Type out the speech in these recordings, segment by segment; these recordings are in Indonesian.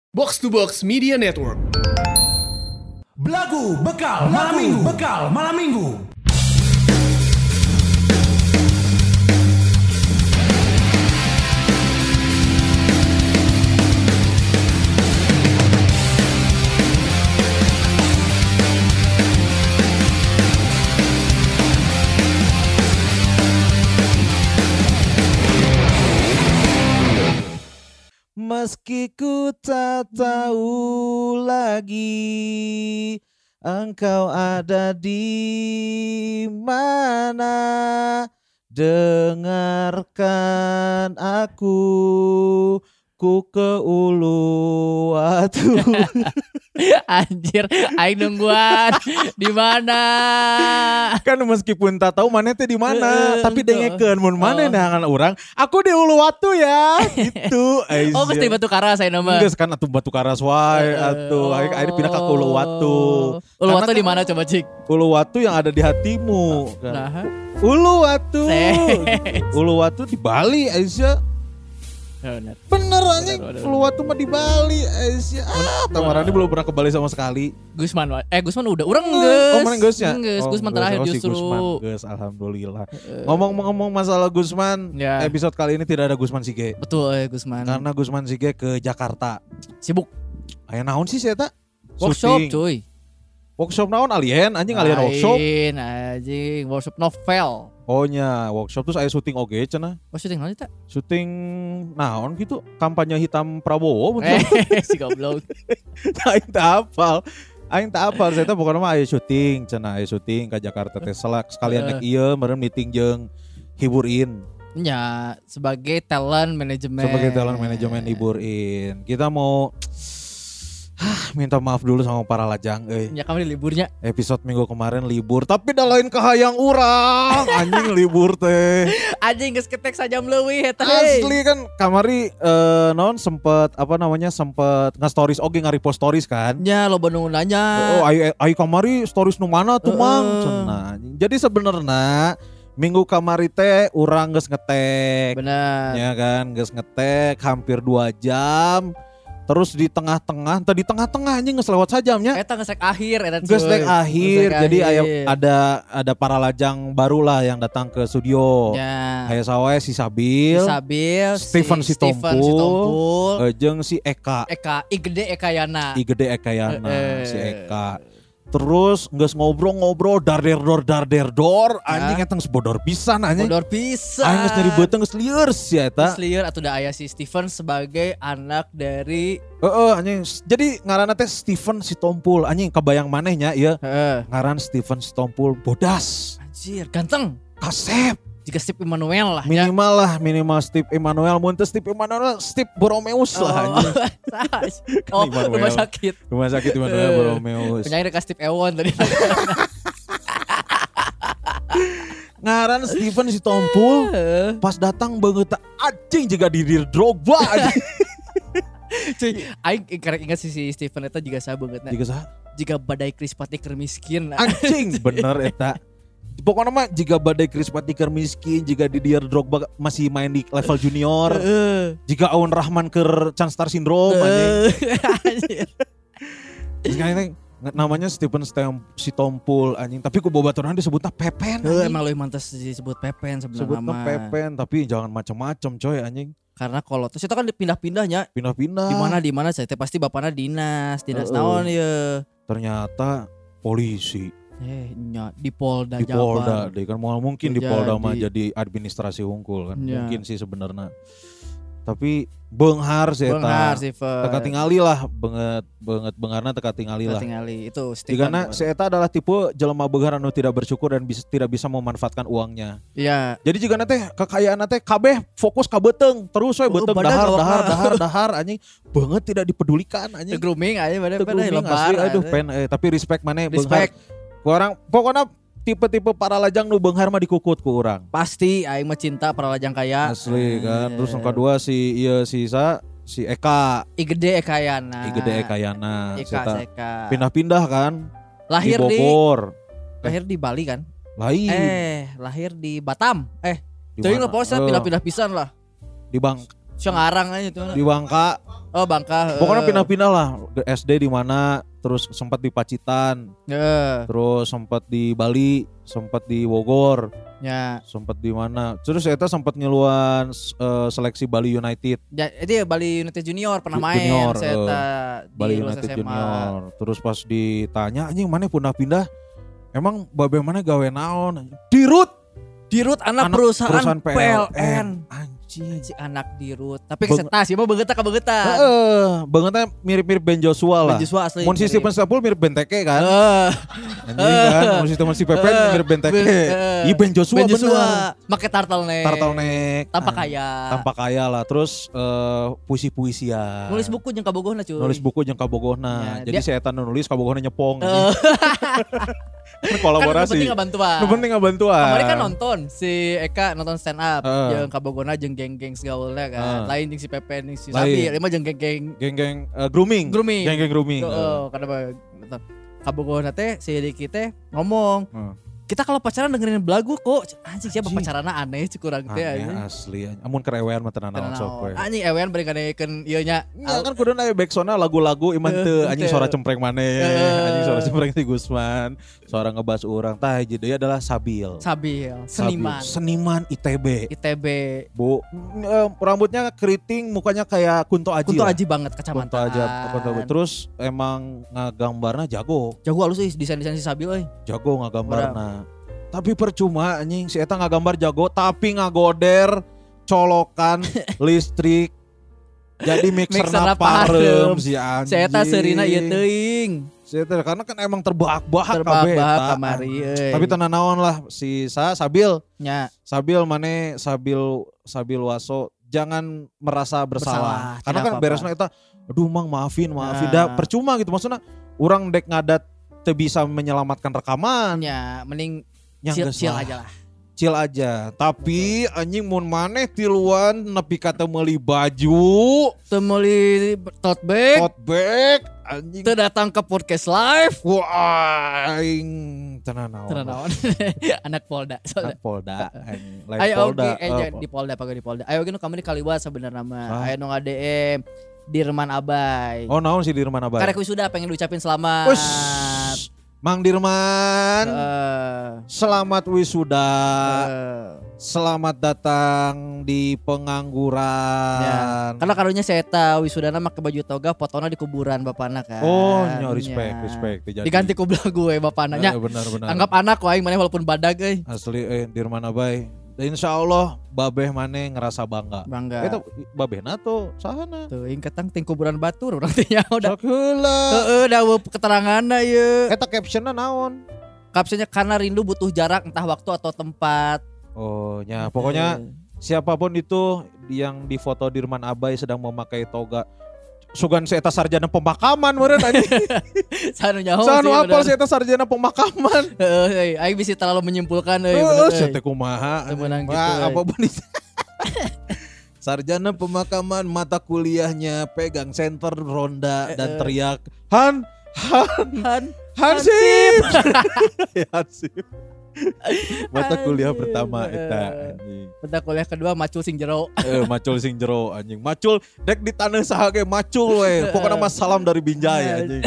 Box to Box Media Network. Belagu bekal malam minggu. Meski ku tak tahu lagi engkau ada di mana, dengarkan aku, ku ke Uluwatu. Anjir, aing nungguan di mana? Kan meskipun tak tahu mana teh di mana, tapi dengekeun mun mana nangan urang, aku di Uluwatu ya. Gitu. Oh, geus di Batu Karas saya nama. Geus kan atuh Batu Karas wae atuh. Aing pindah ka Uluwatu. Uluwatu di mana coba cik? Uluwatu yang ada di hatimu. Kan. Nah. Uluwatu. Uluwatu di Bali Aisyah. Bener anjing, Uluwatu mah di Bali Aisyah. Tamarani belum pernah ke Bali sama sekali. Gusman udah urang geus. Oh, mana geus ya? Gusman terakhir justru. Geus, alhamdulillah. Ngomong-ngomong masalah Gusman, ya. Episode kali ini tidak ada Gusman Sige. Betul, Gusman. Karena Gusman Sige ke Jakarta. Sibuk. Aya naon sih saya tak? Workshop cuy. Workshop naon alien? Anjing alien workshop. Anjing, workshop novel. Oh nya, workshop terus aya syuting oge cenah. Oh, syuting naon eta? Syuting naon gitu, kampanye hitam Prabowo betul. Si goblok. Aing tak hafal. Saya teh pokona mah aya syuting cenah, aya syuting ka Jakarta teh sekalian nek ieu meureun meeting jeung hiburin. Ya, sebagai talent manajemen hiburin. Kita mau minta maaf dulu sama para lajang Ya kemarin liburnya. Episode minggu kemarin libur, tapi dah lain kahayang urang. Anjing libur teh. Anjing geus ketek sajam leuwih eta. Asli kan kamari sempet nge-stories oge nge-repost stories kan. Ya lo nu nanya. Oh ai kamari stories nu mana tuh mang cenah. Jadi sebenarnya minggu kamari teh urang geus ngetek. Benar. Ya kan, geus ngetek hampir 2 jam. Terus di tengah-tengah anjing geus lewat sajamnya. Eta geus akhir eta. Geus akhir. Jadi ada para lajang baru lah yang datang ke studio. Ya. Kayak sawe si Sabil, Stephen Sitompul, jeung si Eka. I gede Ekayana. Si Eka. Terus geus ngobrol darder dor anjing eta geus bodor pisan anjing. Bodor pisan. Aing geus nyari beuteung geus lieur sia eta. Geus lieur atuh da aya si Stephen sebagai anak dari anjing. Jadi ngaranna teh Stephen Sitompul anjing, kabayang manehnya ieu. Ngaran Stephen Sitompul bodas. Anjir, ganteng. Kasep. Jika Steve Emmanuel lah minimal Steve Emmanuel. Mun teu Steve Emmanuel, Steve Boromeus lah anjing. Rumah sakit Emmanuel Boromeus. Penyanyi dekat Steve Ewon tadi. Ngaran Stephen Sitompul pas datang banget anjing juga didir Drogba anjing. Cuy, aing karek ingat si Stephen eta juga sa beungeutna. Jika badai Krispati keur miskin. Anjing bener eta. Pokoknya mah jika badai Krispati keur miskin, jika Didier Drogba masih main di level junior, jika Aun Rahman keur Can Star Syndrome anjing. Anjing. Namanya Stephen Sitompul anjing, tapi ku babaturan disebutnya Pepen. Emang lu mantas disebut Pepen sebenarnya. Sebutnya Pepen, tapi jangan macam-macam coy anjing. Karena kalau terus itu kan pindah-pindahnya. Di mana saya pasti bapaknya dinas naon ya. Ternyata polisi. Di Polda Jabar. Deh kan mungkin di Polda mah jadi administrasi unggul kan. Ya. Mungkin sih sebenarnya. Tapi beunghar sih eta. Teka tingali lah banget beungarna teka tingali lah. Itu Stephen. Karena si eta adalah tipe jelema beunghar anu tidak bersyukur dan tidak bisa memanfaatkan uangnya. Iya. Jadi jika teh kekayaan teh kabeh fokus ka beuteung, terus we beuteung dahar anjing banget tidak dipedulikan anjing. Grooming aja pada lebar. Aduh tapi respect maneh beunghar. Pokoknya tipe-tipe para lajang nu beunghar mah dikukut ku urang. Pasti aing mah cinta para lajang kaya. Asli kan. Terus yang kedua si Eka. I gede Ekayana. Eka. Pindah-pindah kan. Lahir di Bogor. Lahir di Bali kan? Lain. Lahir di Batam. Teuing lah pokoknya pindah-pindah pisan lah. Di Ngarang aja itu. Di Bangka. Oh Bangka. Pokoknya pindah-pindah lah. SD di mana, terus sempat di Pacitan. Terus sempat di Bali, sempat di Bogor. Ya. Sempat di mana? Terus eta sempat ngeluan seleksi Bali United. Ya, itu Bali United Junior pernah main Junior, saya Bali United SMA. Junior. Terus pas ditanya anjing mana pindah-pindah? Emang babe mana gawe naon? Dirut anak perusahaan PLN. Anjing. Si anak dirut. Tapi keseta sih mah beungeutna ka beungeutna. Beungeutna mirip-mirip Ben Joshua lah. Ben Joshua asli. Mun si Stephen Staples mirip Ben Teke kan. Anjing kan. Mun si Pepen mirip Ben Teke. Iya Ben Joshua bener. Make turtleneck. Tanpa kaya lah. Terus puisi-puisian. Nulis buku jeung kabogohna. Jadi saya eta nulis kabogohna nyepong. Kolaborasi. Kan penting ngabantuan. Kemarin kan nonton si Eka nonton stand up jeung kabogona jeung geng-geng segaulnya kan. Lain jeung si Pepe jeung si Sabi, lima jeung geng-geng grooming. Geng-geng grooming. Karena kabogona teh si Diki teh ngomong, kita kalau pacaran dengerin lagu kok anjing siapa pacaranna aneh sih kurang teh anjing. Asli anjing. Amun kerewean mah tenan naon sok we. Anjing ewean bari gadekeun ieu nya. Ya kan kudu aya backsoundna lagu-lagu iman teu anjing suara cempreng maneh. Anjing suara cempreng ti Gusman. Suara ngebahas urang tah hiji deui adalah Sabil. Seniman ITB. Bu, rambutnya keriting, mukanya kayak Kunto Aji. Kunto Aji banget kacamata. Kunto Aji. Terus emang ngagambarna jago. Jago halus euy desain-desain si Sabil euy. Jago ngagambarna. Tapi percuma anjing si eta ngagambar jago tapi ngagoder colokan listrik jadi mixerna parem si anjing. Si eta seurina ieu teuing. Si eta karena kan emang terbahak-bahak kabeh eta. Kamari euy. Tapi tenan naon lah si Sabil. Nya. Sabil Waso jangan merasa bersalah. Karena kan beresna eta aduh mang maafin. Dah percuma gitu maksudnya urang dek ngadat teu bisa menyelamatkan rekaman. Ya, mending chill aja. Tapi anjing mun maneh tiluan nepi ka teu meuli baju, teu meuli tote bag anjing. Teu datang ke podcast live. Wah, aing tenan naon. Anak Polda. Anjing. Ayo di Polda. Ayo gini kamari kaliwat sebenarnya mah. Aya nu ngadm Dirman Abai. Oh naon si Dirman Abai? Karek wisuda pengen diucapin selamat. Mang Dirman, selamat wisuda, selamat datang di pengangguran. Ya, karena karunya saya tahu wisudana make baju toga, fotona di kuburan bapana kan. Oh, respect. Diganti ku belagu bapana. Ya, benar. Anggap anak wae maneh walaupun badag euy. Asli Dirman Abai. Insya Allah babeh maneh ngerasa bangga. Itu babehna tuh sahana. Tuh ingketang ting kuburan batur urang teh nya udah. Sok heula. Heeh da keteranganna ieu. Eta captionnya naon? Captionnya karena rindu butuh jarak entah waktu atau tempat. Oh ya pokoknya siapapun itu yang difoto Dirman Abai sedang memakai toga. Sugan si eta sarjana pemakaman meureun anjing. Sanu nyaho Sanu apal si eta sarjana pemakaman. Heeh, aing bisa terlalu menyimpulkan euy bener euy. Heeh, kumaha. Apa benih. Sarjana pemakaman mata kuliahnya pegang senter ronda dan teriak Hansip. Hansip. Mata kuliah pertama eta anjing. Mata kuliah kedua macul sing jero. Macul sing jero anjing. Macul dek di taneuh saha ge macul we. Pokokna mah salam dari Binjai anjing.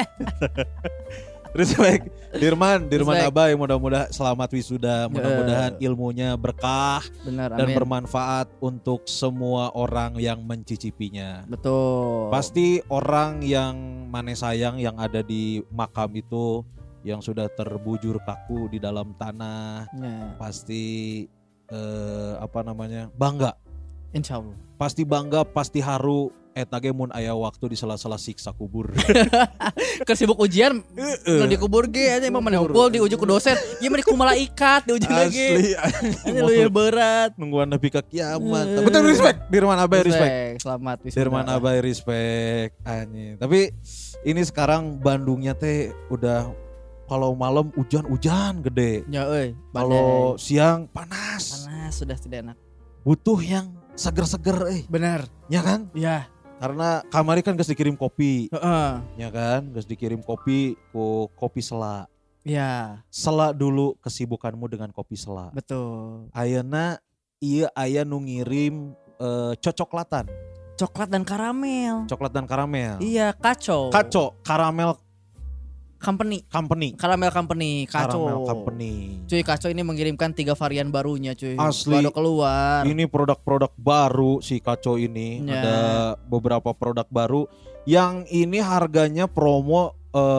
Respect Dirman Abai, mudah-mudahan selamat wisuda, mudah-mudahan ilmunya berkah. Benar, dan amin. Bermanfaat untuk semua orang yang mencicipinya. Betul. Pasti orang yang maneh sayang yang ada di makam itu yang sudah terbujur kaku di dalam tanah, pasti bangga. Insya Allah. Pasti bangga, pasti haru. Eta ge mun aya waktu di sela-sela siksa kubur. Keur sibuk ujian nu di kubur ge anya emang maneh hukul di ujuk ku dosen. Ieu mah di ku malaikat di ujuk lagi. Ini lu berat. Nungguan nepi ka kiamat. Betul respect Dirman Abai respect. Selamat wisuda. Dirman Abai respect anjing. Tapi ini sekarang Bandungnya teh udah kalau malam hujan gede. Ya euy. Kalau siang panas. Panas sudah tidak enak. Butuh yang seger-seger Benar. Ya kan? Iya. Karena kamari kan geus dikirim kopi. Heeh. Ya kan? Geus dikirim kopi ku kopi Sela. Iya. Sela dulu kesibukanmu dengan kopi Sela. Betul. Ayeuna ieu aya nu ngirim cocoklatan. Coklat dan karamel. Coklat dan karamel. Iya, Kaco. Kaco, Caramel Company. Caramel Company, Caramel Kaco. Company. Cuy, Kaco ini mengirimkan 3 varian barunya, cuy. Asli. Baru keluar. Ini produk-produk baru si Kaco ini. Ya. Ada beberapa produk baru yang ini harganya promo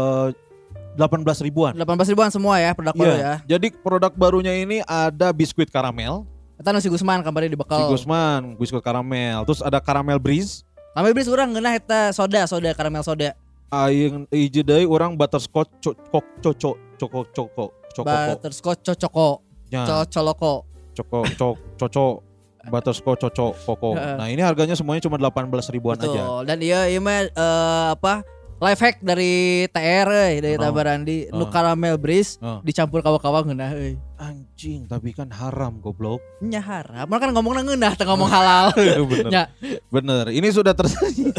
18 ribuan. 18 ribuan semua ya produk baru ya. Jadi produk barunya ini ada biskuit karamel. Kita nasi Gusman kabarnya di bekal. Si Gusman, biskuit karamel. Terus ada karamel breeze. Karamel breeze urang ngeunah eta soda karamel soda. Aing hiji deui urang butterscotch coko. Butterscotch cocoko. Ya. Cocoloko. Coco butterscotch koko. Nah, ini harganya semuanya cuma 18 ribuan Betul. aja. Dan iya mah life hack dari TR dari Tabarandi nu caramel breeze dicampur kawa-kawa ngeunah euy. Anjing, tapi kan haram goblok. Nya haram. Mun kan ngomongna ngeunah teu ngomong halal. Bener. Bener. Ini sudah tersedia.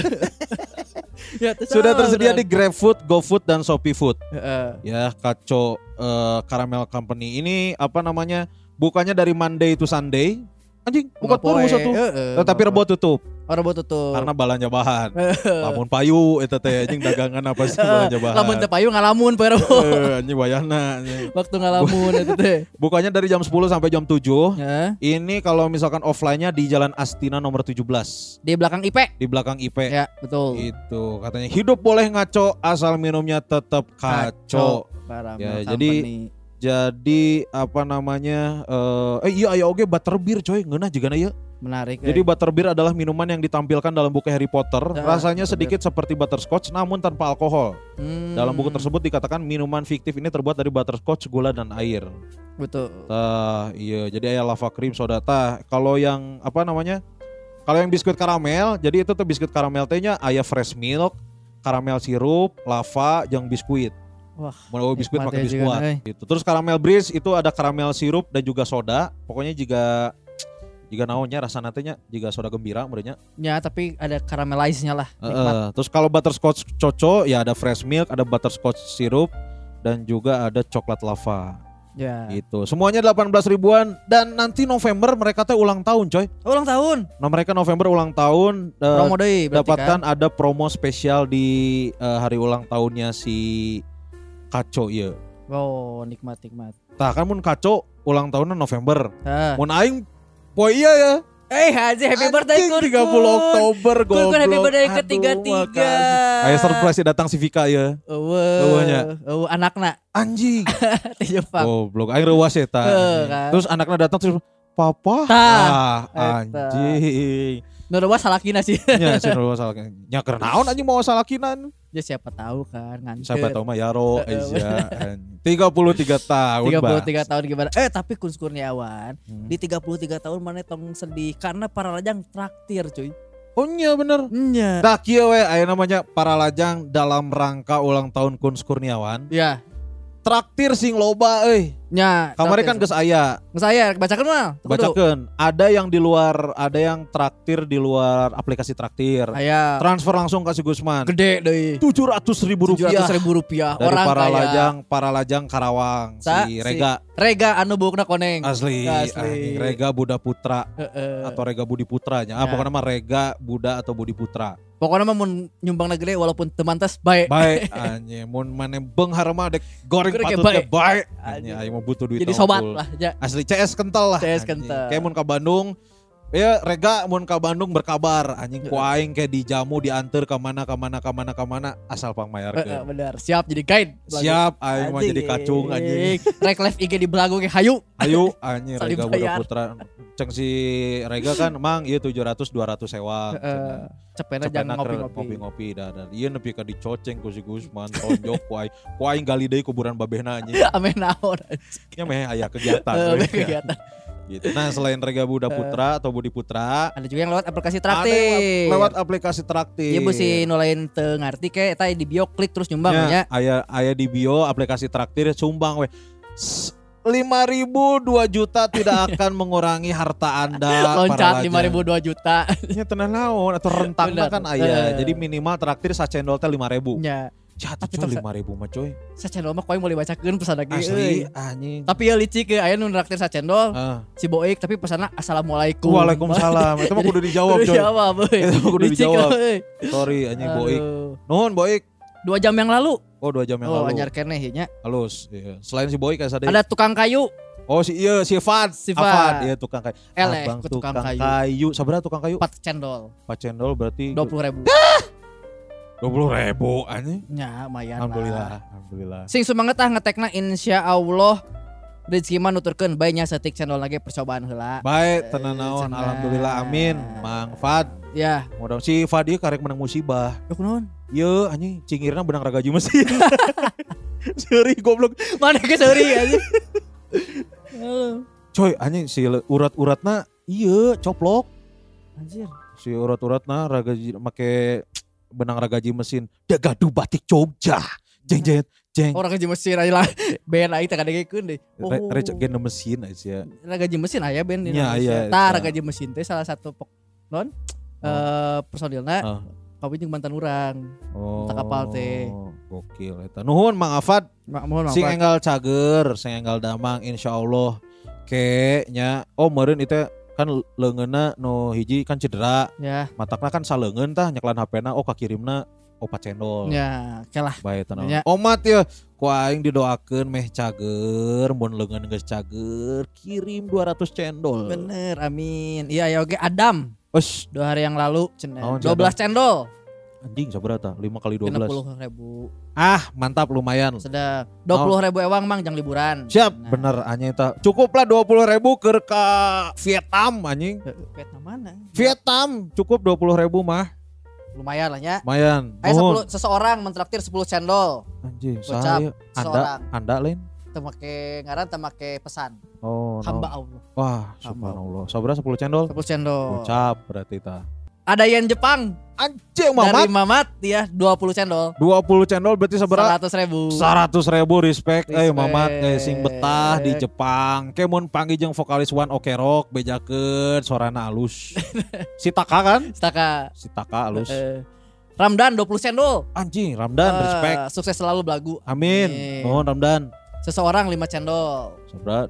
Sudah tersedia di GrabFood, GoFood dan ShopeeFood. Ya, Kaco Caramel Company. Ini apa namanya? Bukannya dari Monday to Sunday. Anjing, bukan terus satu. Tapi Rebo tutup. Rebo tutup. Karena balanya bahan. Lamun payu eta teh anjing dagangan apa sih balanya bahan. Lamun teu payu ngalamun poe Rebo. Anjing wayahna. Waktu ngalamun eta teh. Bukannya dari jam 10 sampai jam 7. Ini kalau misalkan offline-nya di Jalan Astina nomor 17. Di belakang IP. Di belakang IP. Ya, betul. Itu katanya hidup boleh ngaco asal minumnya tetap kaco. Ya, jadi apa namanya? Iya aya oge butterbeer coy, ngeunah jigana ieu. Menarik. Jadi butterbeer adalah minuman yang ditampilkan dalam buku Harry Potter. Rasanya sedikit seperti butterscotch namun tanpa alkohol. Dalam buku tersebut dikatakan minuman fiktif ini terbuat dari butterscotch, gula dan air. Betul. Iya, jadi aya lava cream soda tah. Kalau yang apa namanya? Kalau yang biskuit karamel, jadi itu tuh biskuit karamel tehnya aya fresh milk, karamel sirup, lava, jeung biskuit. Wah, mau biskuit pakai biskuit gitu. Terus karamel breeze itu ada karamel sirup dan juga soda. Pokoknya jika naonnya rasa nantinya jika soda gembira merenya. Ya, tapi ada caramelize-nya lah. Terus kalau butterscotch coco ya ada fresh milk, ada butterscotch sirup dan juga ada coklat lava. Ya. Gitu. Semuanya 18 ribuan dan nanti November mereka teh ulang tahun, coy. Ulang tahun. Nah, mereka November ulang tahun promo deui berarti dapatkan kan? Ada promo spesial di hari ulang tahunnya si Kaco ya. Oh, nikmat. Tah kan mun Kaco ulang tahunnya November. Mun aing poe iya ya. Haji happy birthday kun. 30 Oktober goblok. Kun happy birthday ke-33. Aya surprise datang si Vika ya. Eueuh. Anakna. Anjing. Ti Jepang. Goblok aing reuas eta. Kan? Terus anaknya datang terus papa. Anjing. Nu reuas salakina sih. Nya si reuas salakina. Nya keur naon anjing mau salakinan? Ya siapa tahu kan nganter. Siapa tahu mah Yaro Asia 33 tahun 33 tahun gimana? Tapi Kun Kurniawan di 33 tahun mana tong sedih karena para lajang traktir cuy. Oh iya bener. Iya. Tah kieu we aya namanya para lajang dalam rangka ulang tahun Kun Kurniawan. Iya. Traktir sing loba euy. Nya, kamari kan geus aya. Geus aya, bacakeun mah. Bacakeun. Ada yang di luar, ada yang traktir di luar aplikasi traktir. Aya. Transfer langsung ke si Gusman. Gede deui. Rp700.000. Dari Orang para lajang Karawang si Rega. Rega anu beukna koneng. Asli. Rega Buda Putra atau Rega Budi Putranya. Pokoknya mah Rega Buda atau Budi Putra. Pokoknya mah mun nyumbang gede walaupun temantes bae. Bae anjing mun maneh beunghar mah dek goreng patut teh bae. Anjing aing mah butuh duit. Jadi sobat lah ya. Asli CS kental lah. CS kental. Kayak mun ka Bandung ya Rega mun ka Bandung berkabar anjing ku aing kayak dijamu diantar ke mana asal pangmayarkeun. Benar, siap jadi guide. Siap aing mah jadi kacung anjing. Rek live IG di belagu ge hayu. Hayu anjing Rega Buda Putra. Ceng si Rega kan mang ieu 700 200 sewa. Cepena jangan ngopi-ngopi dan ieu nepi ka dicoceng ku si Gusman tonjok ku aing gali deui kuburan babehna anjing. Ame naon. Nya meh aya kegiatan. Gitu. Nah selain Rega Buda Putra atau Budi Putra, ada juga yang lewat aplikasi traktir. Lewat aplikasi traktir. Iya busi nulain teu ngarti kayak tadi di bio klik terus nyumbang ya. Aya di bio aplikasi traktir sumbang we. 5.000 2 juta tidak akan mengurangi harta Anda. Loncat 5.000 2 juta. Ya tenang naon atau rentangna kan aya. Jadi minimal traktir sacendol teh 5.000. Ya. Jatuh coy 5.000 mah coy. Sacendol mah koe mau dibacakeun pesan lagi Asli anjing. Tapi ya licik aya nu nraktir sacendol. Si Boik tapi pesanna assalamualaikum. Waalaikumsalam. Itu mah kudu dijawab coy. Itu mah kudu dijawab. Sorry anjing Boik. Nuhun Boik. 2 jam yang lalu. Oh 2 jam yang lalu. Oh anyar keneh nya. Halus. Iya. Selain si Boik asa ada tukang kayu. Oh si Fad. Fad. Iya tukang kayu. Abang tukang kayu. Sabaraha tukang kayu? 4 cendol. 4 cendol berarti 20.000. 20.000 anjing. Nya lumayan. Alhamdulillah. Sing semangat ngetekna insyaallah rezeki mah nuturkeun bae nya setik cendol lagi percobaan heula. Baik tenan naon alhamdulillah amin. Mang Fad. Ya. Mudah si Fad ieu karek menang musibah. Yo kunaon? Ieu anjing cingirna benang ragaji mesin. Seuri goblok. Mana ke seuri anjing. Coy anjing si urat-uratna ieu coplok. Anjir. Si urat-uratna ragaji make benang ragaji mesin. Da gaduh batik Jogja. Jeng. Orang gaji mesin aja lah. Ben aing teh kadegekeun deh. Recek gen mesin aja. Ragaji mesin aya ben di Indonesia. Tah ragaji mesin teh salah satu personilna kawin jeung mantan urang. Tak kapal teh. Gokil eta. Nuhun Mang Afad. Sing enggal cager, sing enggal damang insyaallah. Ke nya meureun itu kan leungeunna nu hiji kan cedera. Ya. Matakna kan saleungeun tah nyeklan HP-na kakirimna opat cendol. Ya, kelah. Bae tenang. Omat ya, ku aing didoakeun meh cager, mun leungeun geus cager, kirim 200 cendol. Bener, amin. Iya ya oke Adam. 2 hari yang lalu 12 cendol. Anjing sabaraha 5 kali 12. 60.000. Mantap lumayan. Sudah 20.000 ewang mang jang liburan. Siap, bener anjing eta. Cukuplah 20.000 keur ka Vietnam anjing. Vietnam mana? Vietnam cukup 20.000 mah. Lumayan lah ya. Lumayan. Ayo seseorang mentraktir 10 cendol. Anjing, saya Anda lain. Temake ngaran temake pesan. Oh, hamba Allah. Wah, subhanallah. Sabaraha 10 cendol? 10 cendol. Ucap berarti ta. Ada yen Jepang. Anjing Mamat. Dari Mamat ya 20 cendol. 20 cendol berarti sabaraha? 100.000. 100.000 respect. Mamat sing betah di Jepang. Ke mun panggih jeung vokalis One Ok Rock bejakeun sorana alus. Si Taka kan? Si Taka alus. Ramdan 20 cendol. Anjing, Ramdan respect. Sukses selalu belagu. Amin. Nuhun Ramdan. Seseorang 5 cendol. Sabaraha?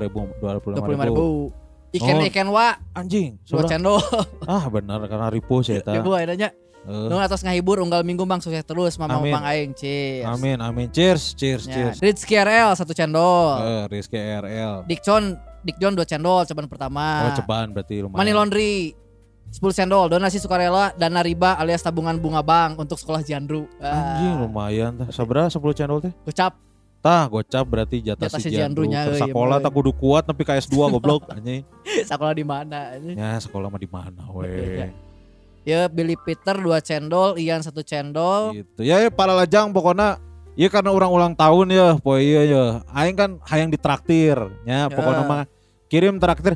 25.000. Iken wa anjing 2 cendol. Benar karena ripo sih eta. Ripo ayeuna nya. Nu atas ngahibur unggal minggu Bang sukses terus Mama Bang aing. Cheers. Amin. Cheers. Rizky RL 1 cendol. Rizky RL. Dikjon 2 cendol cobaan pertama. Cobaan berarti lumayan. Money Laundry 10 cendol. Donasi sukarela dana riba alias tabungan bunga bank untuk sekolah Jandru. Anjing lumayan tah. Sabaraha 10 cendol teh? Gocap. Gocap berarti jatah si Jandrunya. Sekolah tak kudu kuat tapi KS2 goblok anjing. Sekolah di mana anjing? Ya sekolah mah di mana we. Ya Billy Peter 2 cendol, Ian 1 cendol. Gitu. Ya para lajang pokoknya ya karena orang ulang tahun ya, poe ya. Aing kan hayang ditraktir nya pokoknya mah kirim traktir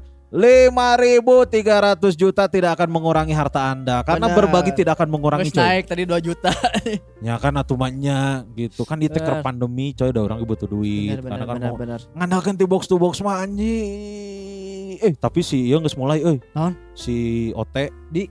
5.300 juta tidak akan mengurangi harta Anda karena berbagi tidak akan mengurangi coy. Naik tadi 2 juta. Ya kan atumannya gitu kan di teker pandemi coy ada orang butuh duit karena kan mau ngandalkeun ti box to box mah anjing. Tapi si ieu geus mulai naon? Si OT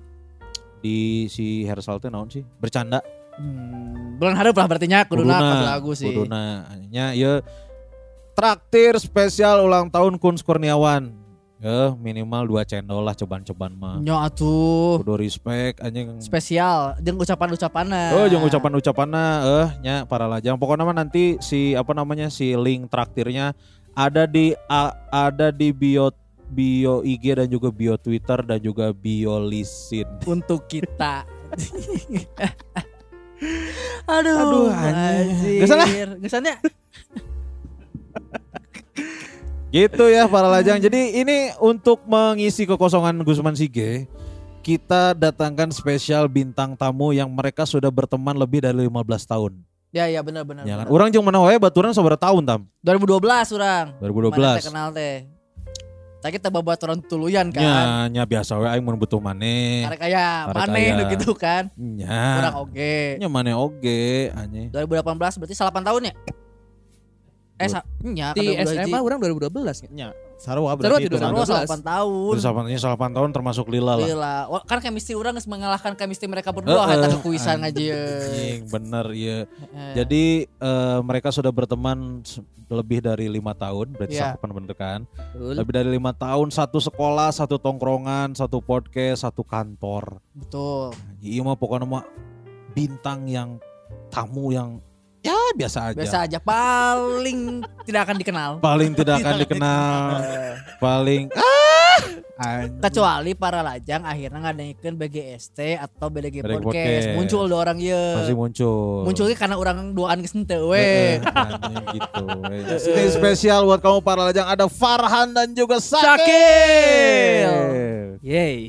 di si Hersal teh naon sih? Bercanda. Bulan hareup lah berarti nya kuduna lagu sih. Kuduna nya ieu traktir spesial ulang tahun Kun Kurniawan. Minimal 2 cendol lah cobaan mah. Nyo atuh. Kudu respect anjing. Spesial jeung ucapan-ucapanna. Jeung ucapan-ucapanna nya para lajang. Pokoknya mah nanti si link traktirnya ada di bio IG dan juga bio Twitter dan juga bio Lisin untuk kita. Aduh anjing. Gesannya. Gitu ya para lajang. Jadi ini untuk mengisi kekosongan Gusman Sige, kita datangkan spesial bintang tamu yang mereka sudah berteman lebih dari 15 tahun. Ya benar. Ya kan. Urang jeung mana wae baturan sabaraha tahun tam? 2012 urang. 2012. Mana kenal teh. Tapi kita babaturan tuluyan kan. Nya biasa we aing mun butuh maneh. Karek aya maneh gitu kan. Nya. Urang oge. Nya maneh oge anjing. 2018 berarti 8 tahun ya? Di SMA orang 2012 nya. Sarua berarti itu. Sarua 8 tahun. Terus 8 tahun termasuk Lila lah. Lila. Kan chemistry urang geus mengalahkan chemistry mereka berdua eta kekuisan ngajieun. Bener ya. Jadi mereka sudah berteman lebih dari 5 tahun, berarti cakupan bener kan? Lebih dari 5 tahun, satu sekolah, satu tongkrongan, satu podcast, satu kantor. Betul. Iya mah pokoknya mah bintang yang tamu yang ya biasa aja. Biasa aja, paling tidak akan dikenal. Paling tidak akan dikenal. Paling kecuali para lajang akhirnya ngadengikeun BGST atau BDG Podcast. Muncul dua orang ieu. Pasti muncul. Munculnya karena orang duaan geus henteu we. Gitu. Ini spesial buat kamu para lajang, ada Farhan dan juga Sakil. Yeay.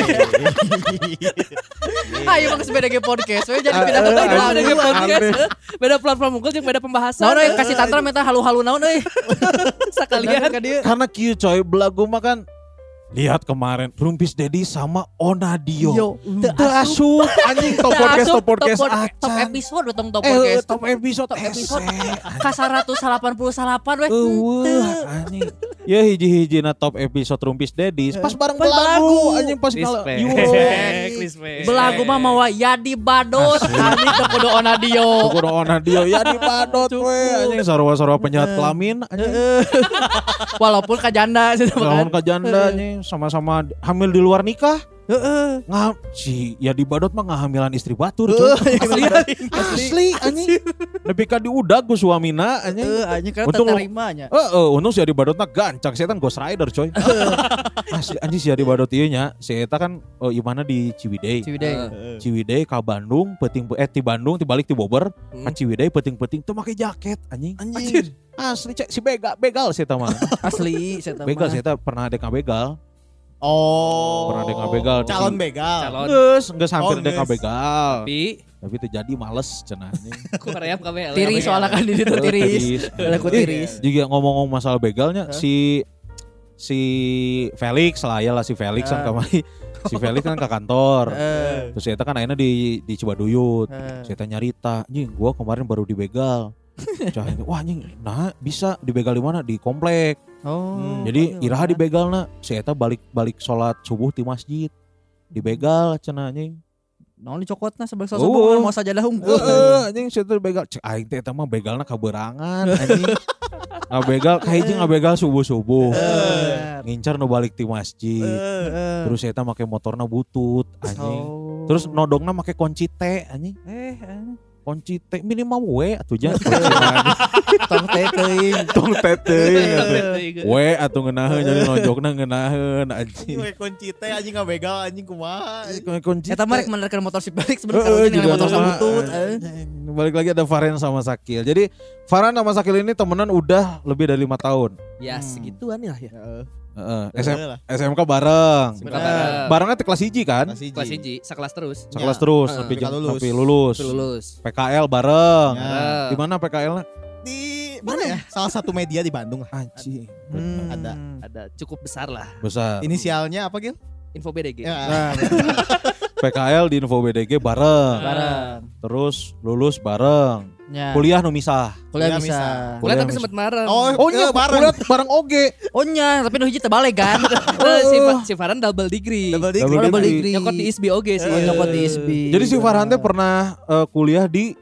Ayo bang BDG Podcast. We jadi pindah ke BDG Podcast. Beda platform unggul jeung beda pembahasan. Naon euy kasih tantram eta halu-halu naon euy. Sakalian karena kieu coy belagu mah kan. Lihat kemarin Rumpis Dedi sama Onadio. Teu asup anjing top podcast acan. Top episode betong top podcast. Top episode. Ka 188 we. Anjing. Ya hiji-hijina top episode Rumpis Dedi pas bareng belagu anjing pas belagu mah mawa Yadi Badot anjing teu kudu Onadio. Kudu Onadio Yadi Badot we anjing sarua-sarua penjahat kelamin anjing. Walaupun kajanda anjing sama-sama hamil di luar nikah. Si ya di Badot mah ngahamilan istri batur coy. Asli anjing. Nepi ka diudag ku suamina anjing. Anjing kan tarimanya. Untung si Adi Badot mah gancang, si eta Ghost Rider coy. Asli anjing si Adi Badot ieu nya, si eta kan imana di Ciwidey. Ciwidey ka Bandung, ti Bandung balik ti Bogor, ka Ciwidey peuting-peuting teu make jaket anjing. Asli cek si begal si eta mah. Asli si eta mah. Begal si eta pernah dek begal. Pernah dek begal. Calon begal. Geus hampir dek begal. Tapi terjadi males cenah anjing. Ku reap kabeh. Tiris soalnya kan di ditu tiris. Aku tiris. Juga ngomong-ngomong masalah begalnya si Felix lah ya lah si Felix kan kemarin. Si Felix kan ke kantor. Terus saya kan akhirnya di Cibaduyut. Saya nyarita, "Anjing, gua kemarin baru dibegal." Wah anjing, nah bisa dibegal di mana? Di komplek. Jadi iraha dibegalna. Si eta balik sholat subuh di masjid. Dibegal cenah anjing. Naon dicokotna sebagai subuh mau sajadah unggul. Anjing si eta begal. Cek aing teh eta mah begalna kaberangan anjing. Ngabegal kahiji ngabegal subuh-subuh. Ngincar nu balik ti masjid. Terus si eta make motorna butut anjing. Terus nodongna make kunci teh anjing. Kunci teh minimal we atuh jan. Tong teh teuing. We atuh ngeunaheun jadi nojokna ngeunaheun anjing. We kunci teh anjing ngabegal anjing kumaha. Eta mah rek menerkan motor si balik sebenarnya dengan motor sabutut. Balik lagi ada Farhan sama Sakil. Jadi Farhan sama Sakil ini temenan udah lebih dari 5 tahun. Ya segituan ya. SMK bareng. Barengnya kelas 1 kan? Kelas 1, sekelas terus. Sekelas terus sampai lulus. PKL bareng. Di mana PKL-nya? Di mana ya? Salah satu media di Bandung lah. Anjing. Ada cukup besar lah. Besar. Inisialnya apa, Gil? Info BDG. PKL di Info BDG bareng. Terus lulus bareng. Kuliah nu misah. Kuliah bisa. Kuliah tapi sempat bareng. Nya kuliah bareng oge. Nya tapi nu hiji teu balik kan. Si Farhan double degree. Double degree. Nyokot di ISBI oge sih. Nyokot di ISBI. Jadi si Farhan teh pernah kuliah di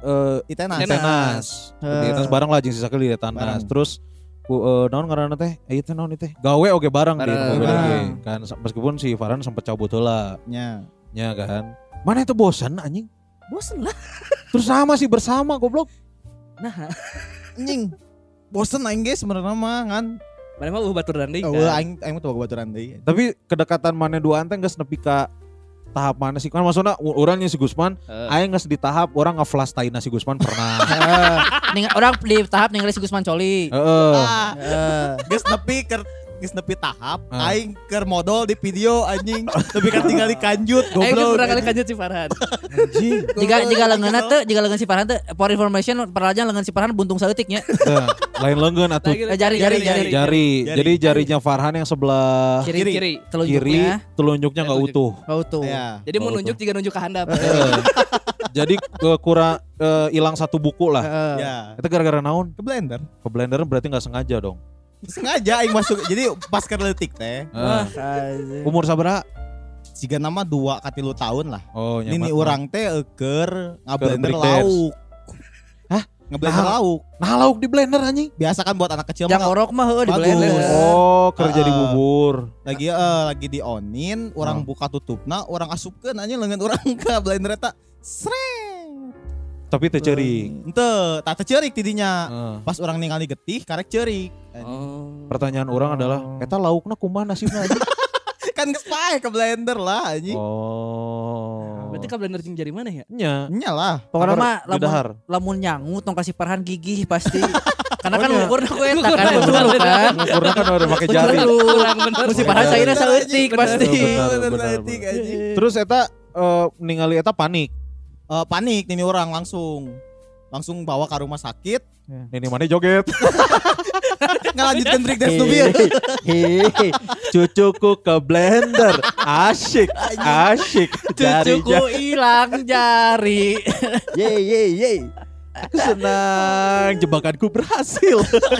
Itenas. Di Itenas bareng lah jeung si Sakil di Itenas. Terus naon ngaranna teh? Ieu teh naon teh? Gawe oge bareng di Info BDG. Kan meskipun si Farhan sempat cabut heula. Nya kan. Mana itu bosan anjing? Bosen lah. Terus sama sih bersama goblok. Nah, anjing. Bosen aing ge sebenarnya mah kan. Mana mah baturan deui. Aing mah tuh baturan deui. Tapi kedekatan maneh duaan teh geus nepi ka tahap mana sih? Kan maksudna urangnya si Gusman, aing geus di tahap urang ngeflash taina si Gusman pernah. Orang di tahap ningali si Gusman Coli. Geus nepi tahap aing keur modal di video anjing. Tapi kan tinggal dikanjut goblok. Aing pernah kali kanjut si Farhan. Anjing. Jika leungeunna teh, jika leungeun si Farhan teh for information peralajang leungeun si Farhan buntung saeutik nya. Lain leungeun atuh. Jari. Jadi jarinya Farhan yang sebelah kiri. Telunjuknya enggak utuh. Jadi mau nunjuk juga nunjuk ke handap. Jadi kurang hilang satu buku lah. Ya. Itu gara-gara naon? Ke blender berarti enggak sengaja dong. Sengaja aing masuk. Jadi pas keur leutik teh. Umur sabaraha? Siga nama 2 ka 3 tahun lah. Oh, Ini urang teh keur ngablender break dance. lauk. Hah? Ngeblender lauk. Nah, lauk di blender anjing. Biasa kan buat anak kecil Yang orok mah heueuh di bagus. blender. Oh, kerja di bubur. Lagi dionin, orang buka tutupna, orang asupkeun anjing leungeun urang ka blender eta. Sreng. Tapi teu ceuring. Henteu, tak teu ceurik tidinya. Heeh. Pas orang ningali getih karek ceurik. Oh. Pertanyaan orang adalah, eta laukna kumaha nasibna anjing? Kan geus pae ke blender lah anjing. Oh. Berarti ka blender jeung jari mana ya? Nya. Nya lah. Pokoknya mah Dahar. lamun nyangu tong kasih parahan gigih pasti. Karena kan Pokoknya. ukurna ku eta kan betul kan. Ngukurna kan udah pakai jari. Kurang bener. Mesti parahan saeuna saeutik pasti. Benar. Terus eta ningali eta panik. Panik nih orang langsung bawa ke rumah sakit. Ini mana joget? Ngalanjutkan break dance tuh biar. Hehehe, cucuku ke blender, asyik. Cucuku hilang jari. Ye. Aku senang, jebakanku berhasil.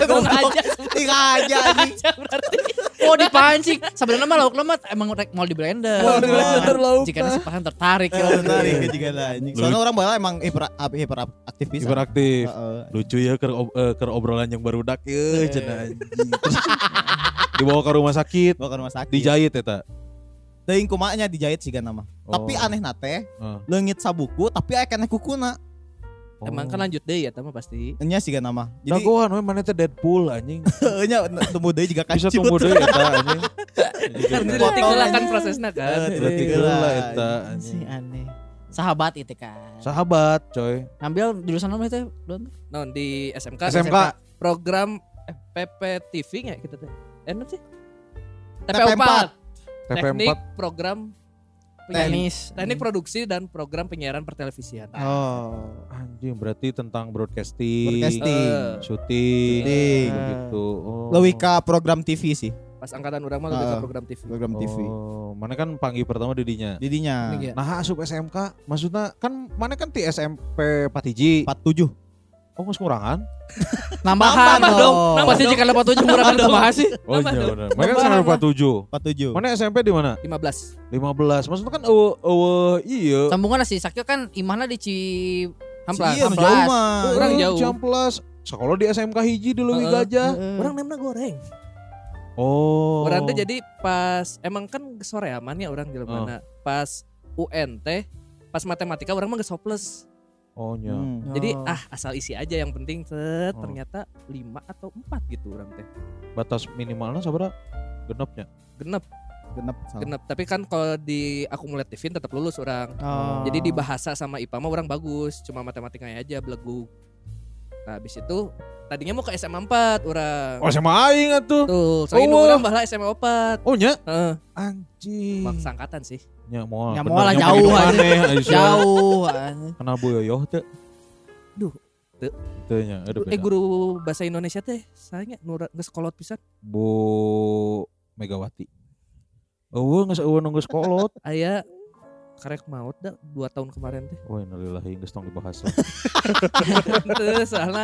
Aja anjing. Oh dipancing. Sebenarnya mah lauk lemat emang rek mau di blender. Jika nasi parahan tertarik ya. Menarik juga lah anjing. Soalnya orang bala emang hiperaktif bisa. Hiperaktif. Heeh. Lucu ya ke obrolan yang barudak ya, cenah anjing. Terus dibawa ke rumah sakit, Bawa ke rumah sakit. dijahit eta. Teuing kumaha dijahit siga nama. Tapi aneh nate, leungit sabuku tapi aya keneh kukuna. Emang kan lanjut deh ya tama pasti. Nya siga nama. Jadi Jagoan we mana teh Deadpool anjing. nya temu deui juga Bisa kancut. tunggu deui eta anjing. Kan tinggal kan prosesnya kan. Berarti geula eta Si anjing. aneh. Sahabat itu kan. Sahabat coy. Ngambil jurusan apa itu? Don? Non di SMK. SMK. Program PPTV nggak kita teh? Enak sih. TP4. Teknik program Tenis. teknik produksi dan program penyiaran pertelevisian. Oh. Anjing berarti tentang broadcasting, syuting, Syuting. begitu. Oh. Leuwih ka program TV sih. Pas angkatan orang mah lebih ke program TV. Program TV. Oh, mana kan panggil pertama didinya. Didinya Iya. Nah, asup SMK, maksudnya kan mana kan di SMP 4 47. Oh, geus ngurangan? Nambahan Nambah dong. dong. Pasti jika lepas 7 murah kan kumaha sih? Oh iya benar. Mereka kan SMP 47. 47. Mana SMP di mana? 15. 15. Maksudnya kan iya. Sambungan si Sakyo kan imahna di Hamplas. Iya, jauh mah. Orang jauh. Jamplas. Sekolah di SMK hiji di Leuwih Gajah. Orang nemna goreng. Oh. Orang teh jadi pas emang kan soreaman ya orang jelema pas UN teh pas matematika orang mah geus hopeless. Oh nya. Jadi asal isi aja yang penting ternyata 5 atau 4 gitu orang teh. Batas minimalnya sabaraha? Genepnya. Genep. Genep. Tapi kan kalau di akumulatifin tetap lulus orang. Jadi di bahasa sama IPA mah orang bagus, cuma matematikanya aja belegu. Nah, habis itu tadinya mau ke SMA 4 orang. Oh sama aing atuh. Tuh, soalnya orang bahala SMA 4. Oh nya? Heeh. Anjing. Maksa angkatan sih. Nya moal. Ya bener, moal lah nya jauh mah aja. di mana, Jauh. Kenal Bu Yoyoh teh? Duh, teu. Teu nya, aduh beda. Guru bahasa Indonesia teh saya geus kolot pisan. Bu Megawati. Eueuh geus eueuh nu geus kolot. Aya karek maut dah 2 tahun kemarin teh. Oh innalillahi geus tong dibahas lah. Teu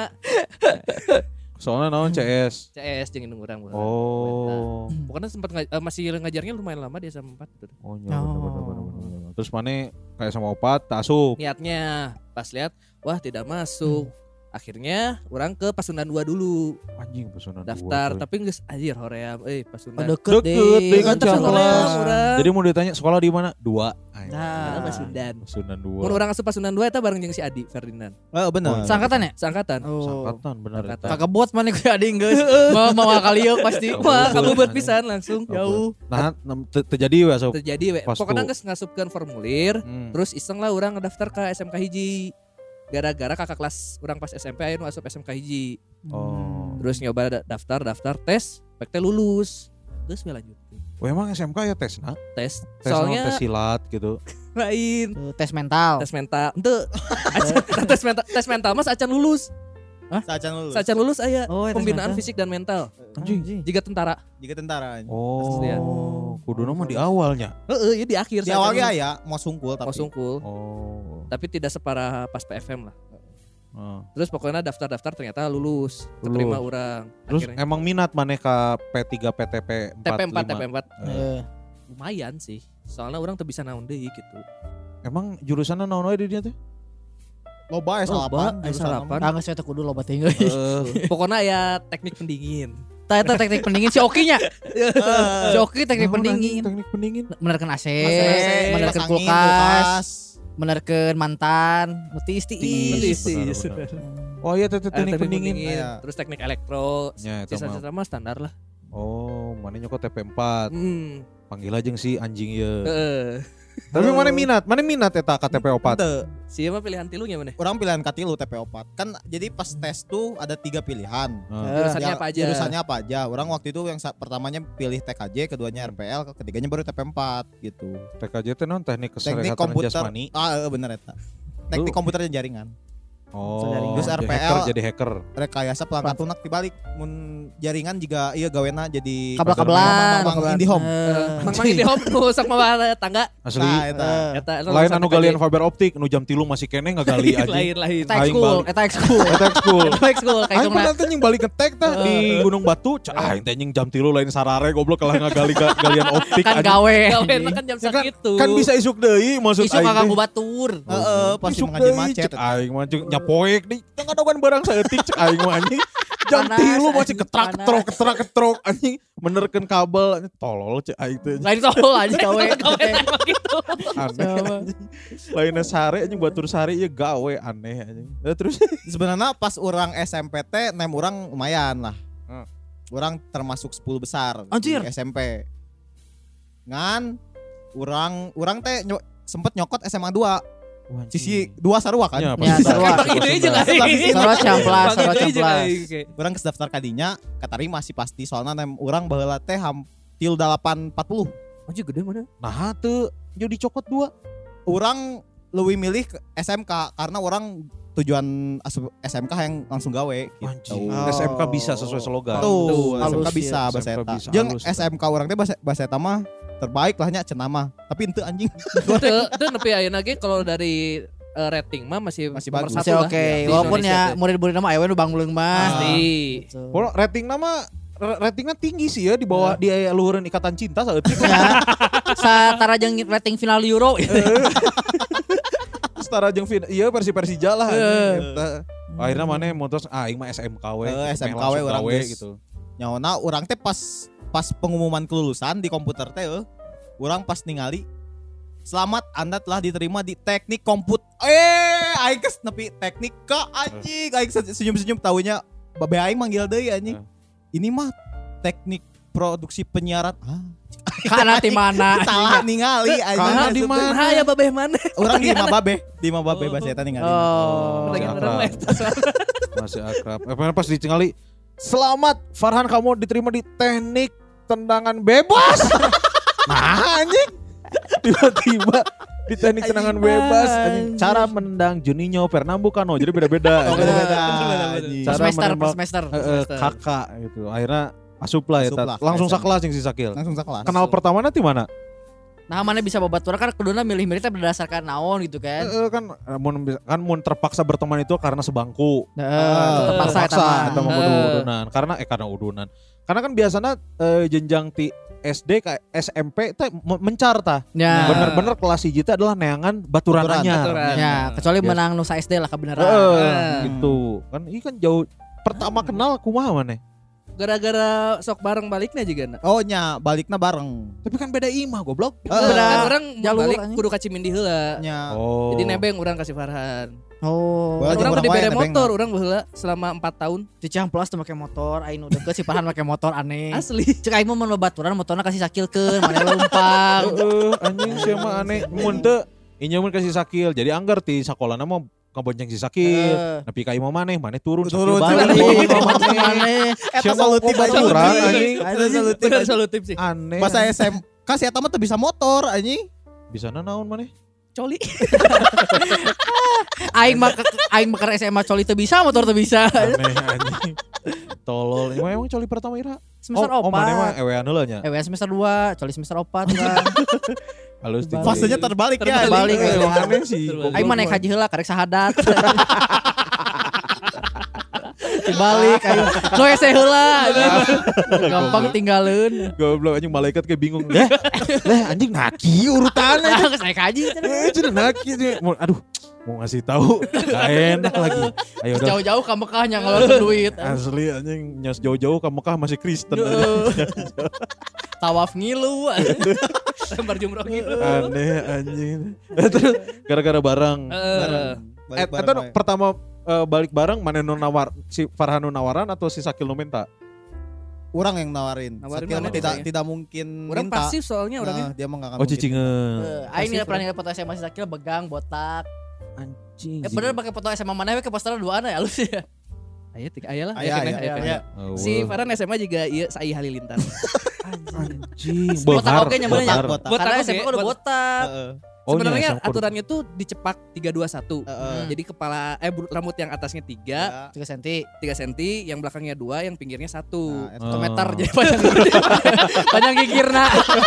Soalnya naon CS. CS jeung indung urang. Oh. Pokoknya sempat masih ngajarnya lumayan lama dia sama 4 gitu. Oh nya bener. Terus mana kayak sama opat tak asup. Niatnya pas lihat wah tidak masuk. Akhirnya orang ke Pasundan 2 dulu. Anjing pesanan Daftar dua, coy. tapi geus anjir hoream Pasundan. Deket deh kan Deket sama Ciamplas. orang. Jadi mau ditanya sekolah di mana? 2. Nah, Pasundan. Pasundan 2. Mun urang asup Pasundan 2 eta bareng jeung si Adi Ferdinand. Oh benar. Sangkatan ya? Seangkatan. Sangkatan bener Sangkatan. eta. Kakak bot mana gue ading guys. Mau kali yuk pasti. Wah, kamu buat pisan langsung Jauh. Nah, terjadi we asup. terjadi we. Pas Pokoknya tuh. geus ngasupkeun formulir, Hmm. terus iseng lah urang ngedaftar ke SMK hiji. Gara-gara kakak kelas urang pas SMP aya nu asup SMK hiji. Oh. Terus nyoba daftar tes, pek teh lulus. Geus we lanjut. Oh emang SMK ya tesna? Tes. Tes Soalnya tes silat gitu. lain. Tes mental. Tes mental. Henteu. Tes mental mas acan lulus. Sacan lulus. Sacan lulus aya Oh, tes pembinaan mental. fisik dan mental. Anjing. Jika tentara. Jika tentara. Oh. Kuduna mah di awalnya. Heeh, ya di akhir. Di sacan awalnya lulus. ya mau sungkul tapi. Mau sungkul. Oh. Tapi tidak separah pas PFM lah. Terus pokoknya daftar ternyata lulus, keterima orang. Terus Akhirnya. emang minat maneh ka P3 PTP 45? TP4. Lumayan sih. Soalnya orang tuh bisa naon deui gitu. Emang jurusannya naon wae di dieu teh? Loba S8. Tangga saya kudu loba tinggal. Pokoknya ya teknik pendingin. Eta teknik pendingin si Oki-nya. Si Oki teknik pendingin. Teknik pendingin. Menerkeun AC, menerkeun kulkas, menerkeun mantan, nutis. Oh iya teknik pendingin. Terus teknik elektro. Ya, itu Sisa-sisa mah standar lah. Oh, mana nyokot TP4. Panggil aja si anjing ya. Tapi mana minat eta KTP 4? Siapa pilihan tilunya mana? Orang pilihan katilu TP4. Kan jadi pas tes tuh ada 3 pilihan. Jurusannya apa aja? Orang waktu itu yang pertamanya pilih TKJ, keduanya RPL, ketiganya baru TP4 gitu. TKJ itu non teknik Teknik kesehatan komputer. jasmani. Bener eta. Teknik komputer dan jaringan. Oh, terus RPL jadi hacker. Rekayasa pelangkat lunak dibalik mun jaringan juga iya gawena jadi kabel-kabelan, Mang IndiHome. Mang IndiHome nu sok mawa tangga. Asli. Eta Lain anu galian fiber optik nu jam 3 masih keneh ngagali aja. Lain. Eta ekskul. Aing pernah teh nying balik ngetek tah di Gunung Batu, aing teh nying jam 3 lain sarare goblok kalah ngagali galian optik kan gawe. Gawe kan jam sakitu. Kan bisa isuk deui maksud aing. Isuk kaganggu batur. Heeh, pasti mengaji macet. Aing mah poek di tengah-tengah barang saeutik cek aing mah anjing. Jam 3 masih ketrak-ketrok anjing menerkeun kabel anjing tolol cek aing teh. Lain tolol aja gawe. Gitu. Aneh. Lainnya sare anjing batur sare ya gawe aneh anjing. Terus sebenarnya pas orang SMP teh nem orang lumayan lah. Orang termasuk 10 besar di SMP. Ngan orang teh sempet nyokot SMA 2. Sisi 2 sarua kan? Ya sarua. Sarua camplas. Orang daftar kadinya katarima sih pasti soalnya nem urang baheula teh 840. Anjir gede mana? Nah teu jadi cokot 2. Urang leuwih milih ke SMK karena orang tujuan SMK yang langsung gawe gitu. SMK bisa sesuai slogan. Tuh, SMK halus, bisa ya, bahasa SMK eta. bisa, Jeung halus. SMK urang teh bahasa eta mah terbaik lahnya cenah mah. Tapi henteu anjing. Itu nepi ayeuna ge kalau dari rating mah masih nomor bagus. satu Masih lah. oke. Di Walaupun Indonesia ya teh. murid-murid nama ayeuna bangleung mah. Pasti. Kalau ratingnya tinggi sih ya di bawah di luhureun ikatan cinta saeutik. Ya. Satara jeung rating final Euro. Setara jeung iya versi Persija lah anjing eta. Akhirnya mana mutus aing mah SMK we. SMK we urang gitu. Nyaona urang teh pas pengumuman kelulusan di komputer teh urang pas ningali selamat Anda telah diterima di teknik komputer. Aing kes nepi teknik ka anjing. Aing senyum-senyum taunya babe aing manggil deui anjing. Ini mah teknik produksi penyiaran. Kana ti mana? Salah ningali anjing. Kana di mana? Nah, ya babeh mana? Urang di Imah Babe bahasa eta ningali. Lagi orang Masih akrab. Pas ditinggali selamat Farhan kamu diterima di teknik tendangan bebas. Nah anjing. Tiba-tiba di teknik tendangan bebas anjing. Cara menendang Juninho Pernambucano jadi beda-beda. Cara semester. Kakak gitu. Akhirnya asup lah eta. Langsung sakelas yang si Sakil. Langsung sakelas. Kenal pertama nanti mana? Nah mana bisa babaturan kan kuduna milih-milih teh berdasarkan naon gitu kan. Kan mun terpaksa berteman itu karena sebangku. Terpaksa eta mah karena udunan. Karena kan biasanya jenjang ti SD ke SMP teh mencar tah. Ya. Bener-bener kelas 1 teh adalah neangan baturananya. Ya, kecuali menang nu SD lah kebenaran. Gitu. Kan ini kan jauh pertama kenal kumaha maneh? Gara-gara sok bareng baliknya juga na. Oh nya baliknya bareng. Tapi kan beda imah goblok. Kan orang jalur balik anjing. kudu ka Cimindi heula. Nya. Oh. Jadi nebeng orang kasih Farhan. Oh. Orang udah dibere motor, orang heula selama 4 tahun. Di Ciamplas tuh make motor, aing udah ke si Farhan make motor aneh. Asli. Cek aing mah baturan motorna kasih sakilkeun, mana leumpang. Anjing sia mah aneh. Mun teu ieu mun kasih sakil. Jadi anggar ti sakolana mah kabonceng si sakil. Nepi ka imah maneh turun Balik maneh. Eta solutif baturan anjing. Bener solutif sih. Aneh. Masa SMK si eta mah teu bisa motor anjing. Bisana naon maneh? Coli. Aing mah SMA coli teu bisa, motor teu bisa. Aneh anjing. Tolol. Emang coli pertama Ira? Semester 4. Oh maneh mah ewean heula nya. Semester 2, coli semester 4 kan. Halus tinggi. Fasenya terbalik ya. Terbalik. Aneh sih. Aing mah naik haji heula karek sahadat. balik ayo. No ese heula. Gampang tinggalin. Goblok anjing malaikat kayak bingung. Lah anjing naki urutannya. Saya kaji. Cenah naki. Aduh, mau ngasih tahu gak enak lagi. Ayo udah. Jauh-jauh ke Mekahnya ngeluarin duit. Asli anjing nyos jauh-jauh ke Mekah masih Kristen. Tawaf ngilu. Lembar jumroh gitu. Aneh anjing. Terus gara-gara barang. Atau pertama balik bareng mana nu nawar si Farhan nu nawaran atau si Sakil nu minta? Orang yang nawarin. Sakil mana tidak mungkin orang minta. pasif soalnya orangnya. Dia mah enggak akan. Oh cicingeun. Aing nilai pernah nilai foto SMA si Sakil begang botak. Anjing. Bener pakai foto SMA mana we ke poster duaan ya halus ya. Aya lah. Aya. Si Farhan SMA juga ieu Sai Halilintar. Anjing. Botak oge nyamannya Botak. karena SMA udah botak. Sebenarnya aturannya tuh dicepak 321. Heeh. Jadi kepala rambut yang atasnya 3 3 cm. yang belakangnya 2, yang pinggirnya 1. Satu meter jadi panjang gigirna.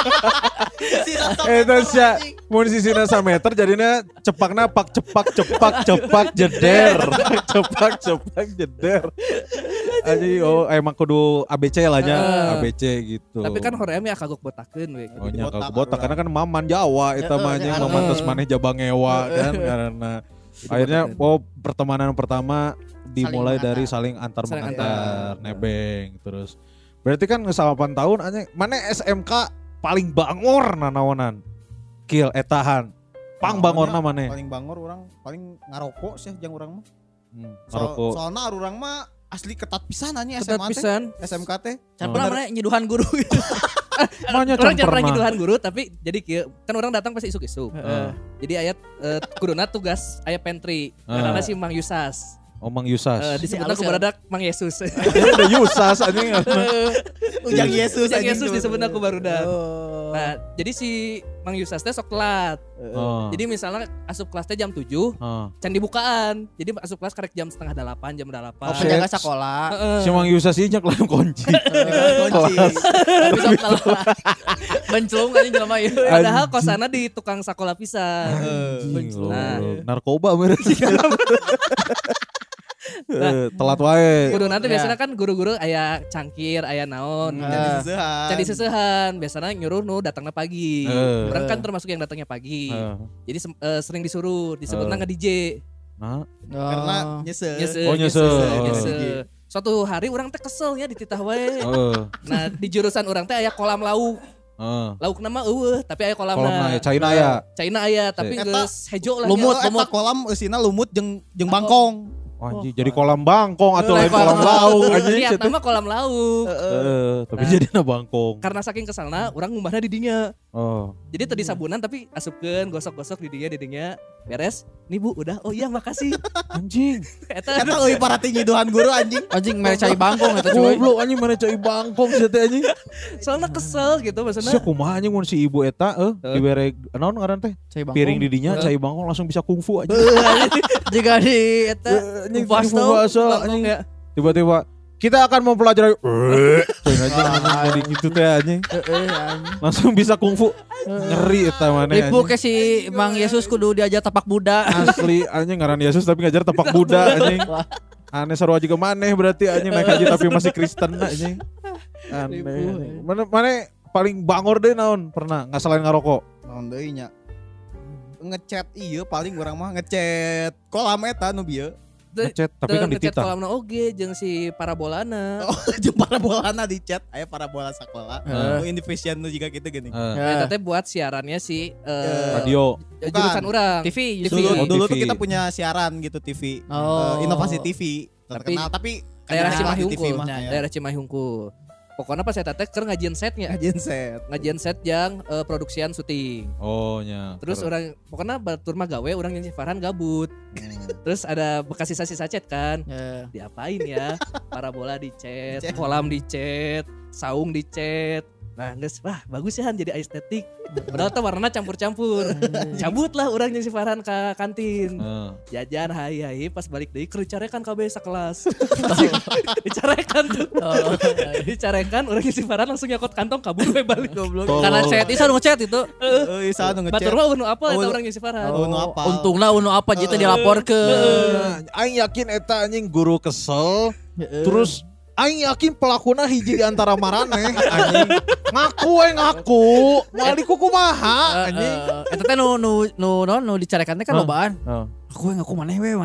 Itu sih mun sisina 1 meter jadinya cepakna pak cepak jeder. cepak jeder. Aji emang kudu ABC lah nya, ABC gitu. Tapi kan hoream ya kagok botakeun we. Oh nya kagok botak karena kan maman Jawa eta mah nya maman terus maneh jabang ngewa kan karena akhirnya pertemanan pertama dimulai dari saling antar nebeng terus. Berarti kan 8 tahun anjing mana SMK paling bangor nanaonan. Kill etahan. Pang bangorna maneh. Paling bangor orang paling ngarokok sih jeung urang mah. Ngarokok. Soalnya urang mah asli ketat pisan anjing Ketat SMA pisan. SMK teh. Can pernah mana nyiduhan guru gitu. Manya Orang can jangan pernah pernah. nyiduhan guru tapi jadi kieu kan orang datang pasti isuk-isuk. Jadi ayat kuduna tugas aya pantry. Karena si Mang Yusas. Oh Mang Yusas. Disebutna ku baradak Mang Yesus. Dia udah Yusas anjing. Ujang Yesus Ujang anjing. Yesus disebutna ku barudak. Nah, jadi si Mang Yusas teh sok telat. Oh. Jadi misalnya asup kelas teh jam 7, can dibukaan. Jadi asup kelas karek jam 7:30, jam 8. Oh, penjaga sekolah. Si Mang Yusas ini nyak lain kunci. Kunci. Tapi sok telat. Benclung kan jelema ieu. Padahal kosana di tukang sakola pisan. Anjing, Nah. narkoba berarti. Telat wae. Kudu nanti biasanya kan guru-guru aya cangkir, aya naon. Jadi seseuhan, biasanya nyuruh nu datangnya pagi. Orang kan termasuk yang datangnya pagi. Jadi sering disuruh, disebutnya nge-DJ. Karena nyese. Oh, nyese. Suatu hari orang teh kesel ya di titah wae. Nah, di jurusan orang teh aya kolam lauk. Lauk nama tapi aya kolamna. China aya tapi geus hejo lah. Lumut kolam eusina lumut jeung bangkong. Anjing jadi kolam bangkong atau lain kolam lauk anjing. Lihat nama kolam lauk. Tapi jadinya bangkong. Karena saking kesalna orang ngumbahna di dinya. Jadi tadi sabunan tapi asupkeun gosok-gosok di dinya beres. Nih Bu, udah. Oh iya makasih. Anjing. Eta leuwih parati nyiduhan guru anjing. Anjing mere cai bangkong eta cuy. Goblok anjing mana cai bangkong sih teh anjing. Soalnya kesel gitu maksudnya. Sia kumaha anjing mun si ibu eta dibere naon ngaran teh? Piring di dinya cai bangkong langsung bisa kungfu anjing. Jika di eta Anjing puasa anjing. Tiba-tiba kita akan mempelajari jadi gitu teh anjing. Langsung bisa kungfu. Ngeri eta maneh. Ibu ke si Mang Yesus kudu diajar tapak Buddha. Asli anjing ngaran Yesus tapi ngajar tapak Buddha anjing. Aneh sarua juga maneh berarti anjing naik haji tapi masih Kristen anjing. Aneh. Mana paling bangor deh naon pernah nggak selain ngarokok? Naon deui nya. Ngechat ieu paling urang mah ngechat kolam eta nu bieu. Ngechat tapi kan ngechat dititah. kolamna oge jeung si parabolana. Oh, jeung parabolana di chat aya parabola sakola. Nu Indovision nu juga gitu gini. Eta teh buat siarannya si Radio. jurusan urang. TV. Dulu tuh TV. kita punya siaran gitu TV. Inovasi TV terkenal tapi Daerah kayak Cimahi di TV Hungkul. mah, ya. Daerah Cimahi Hungkul. Pokoknya pas saya teh keur ngajian setnya. Ngajian set yang produksian syuting. Oh nya. Terus orang pokoknya batur mah gawe orang yang si Farhan gabut. Terus ada bekas sisa-sisa chat kan. Diapain ya? Parabola di chat, kolam di chat, saung di chat. Nah, geus wah bagus ya Han jadi estetik. Padahal teh warnana campur-campur. Cabutlah urang jeung si Farhan ka kantin. Jajan hai pas balik deui keur dicarekan kabeh sakelas. Dicarekan tuh. Dicarekan urang si Farhan langsung nyakot kantong kabur we balik goblok. Karena chat isa nu ngechat itu. Isa nu ngechat. Batur mah unu apa eta urang si Farhan. Unu apa. Untungna unu apa jitu dilaporkeun. Aing yakin eta anjing guru kesel. Terus aing yakin pelakuna hiji di antara maraneh anjing. Ngaku moal dikukumaha anjing. Eta teh nu dicarekan teh kan lobaan. Ngaku maneh we.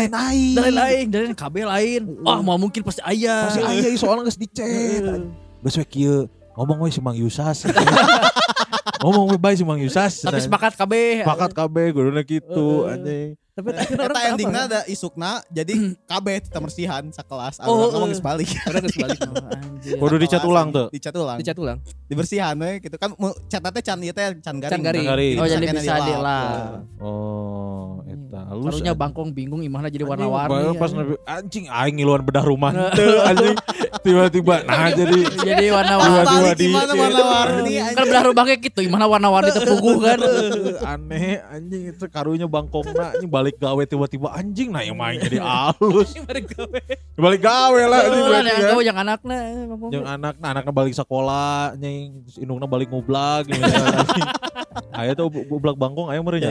Lain kabeh lain. Wah, mau mungkin pasti aya. Pasti aya soalnya geus dicet. Geus we kieu ngomong we si Mang Yusas. Ngomong we bae si Mang Yusas. Tapi sepakat kabeh. Guruna kitu anjing. Tapi eta endingna ada isukna jadi kabeh temersihan sakelas ngomong geus balik. Urang geus balik. Kudu dicat ulang tuh. Dicat ulang. Dibersihan we gitu kan catna teh can ieu teh can garing. Oh jadi bisa dilap. Oh, eta. Harunya bangkong bingung imahna jadi warna-warni. Pas anjing aing ngiluan bedah rumah teu anjing. Tiba-tiba nah jadi warna-warni. Gimana warna-warni? Kan bedah rumah kayak gitu imahna warna-warni teh puguh kan. Aneh anjing itu karunya bangkongna anjing balik gawe tiba-tiba anjing nah yang main jadi halus. Balik gawe lah anjing. Gawe yang anakna. Yang anakna balik sekolah anjing terus indungna balik ngublag gitu. Aya tuh bublak bangkong aya meureun nya.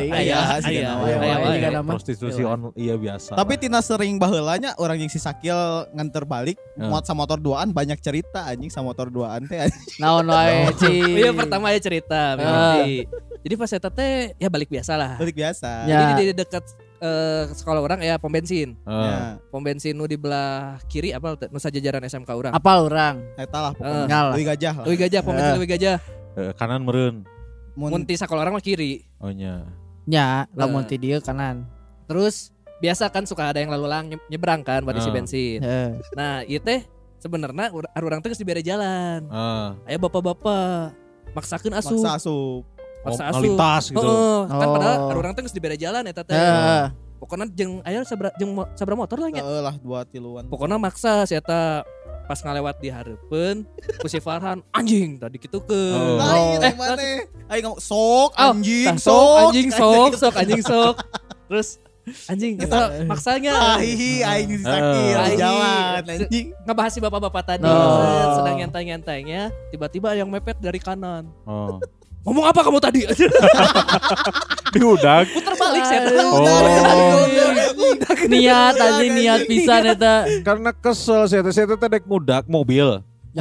Aya prostitusi on iya biasa. Tapi tina sering baheulanya orang yang si Sakil nganter balik muat sa motor duaan banyak cerita anjing sa motor duaan teh. Naon wae Iya pertama aya cerita Jadi pas eta teh ya balik biasa lah. Balik biasa. Jadi di dekat sekolah orang ya pom bensin. Pom bensin nu di belah kiri apa nu sajajaran SMK urang. Apal urang. Eta lah pokoknya. Leuwih Gajah lah. Leuwih Gajah pom bensin Leuwih Gajah. Kanan meureun. Mun ti sekolah orang mah kiri. Oh nya. Nya, lamun ti dieu kanan. Terus biasa kan suka ada yang lalu lalang nyebrang kan buat isi bensin. Nah, ieu teh sebenarnya urang teh geus dibere jalan. Aya bapak-bapak maksakeun asup. Maksa asup. Lintas gitu. Kan padahal urang teh geus dibere jalan eta teh. Pokona jeung aya sabra motor lah nya. Heeh lah 2-3-an. Pokona maksa si eta pas ngalewat di hareupeun ku si Farhan anjing tadi kitu ke. Maneh. Aing ngomong sok anjing sok. Terus anjing eta maksanya aing disakil jalan anjing. Ngebahas si bapak-bapak tadi sedang nyantai-nyantainya tiba-tiba ada yang mepet dari kanan. Ngomong apa kamu tadi? Diudag. Puter balik saya. Niat pisan eta. Karena kesel saya teh dek ngudak mobil.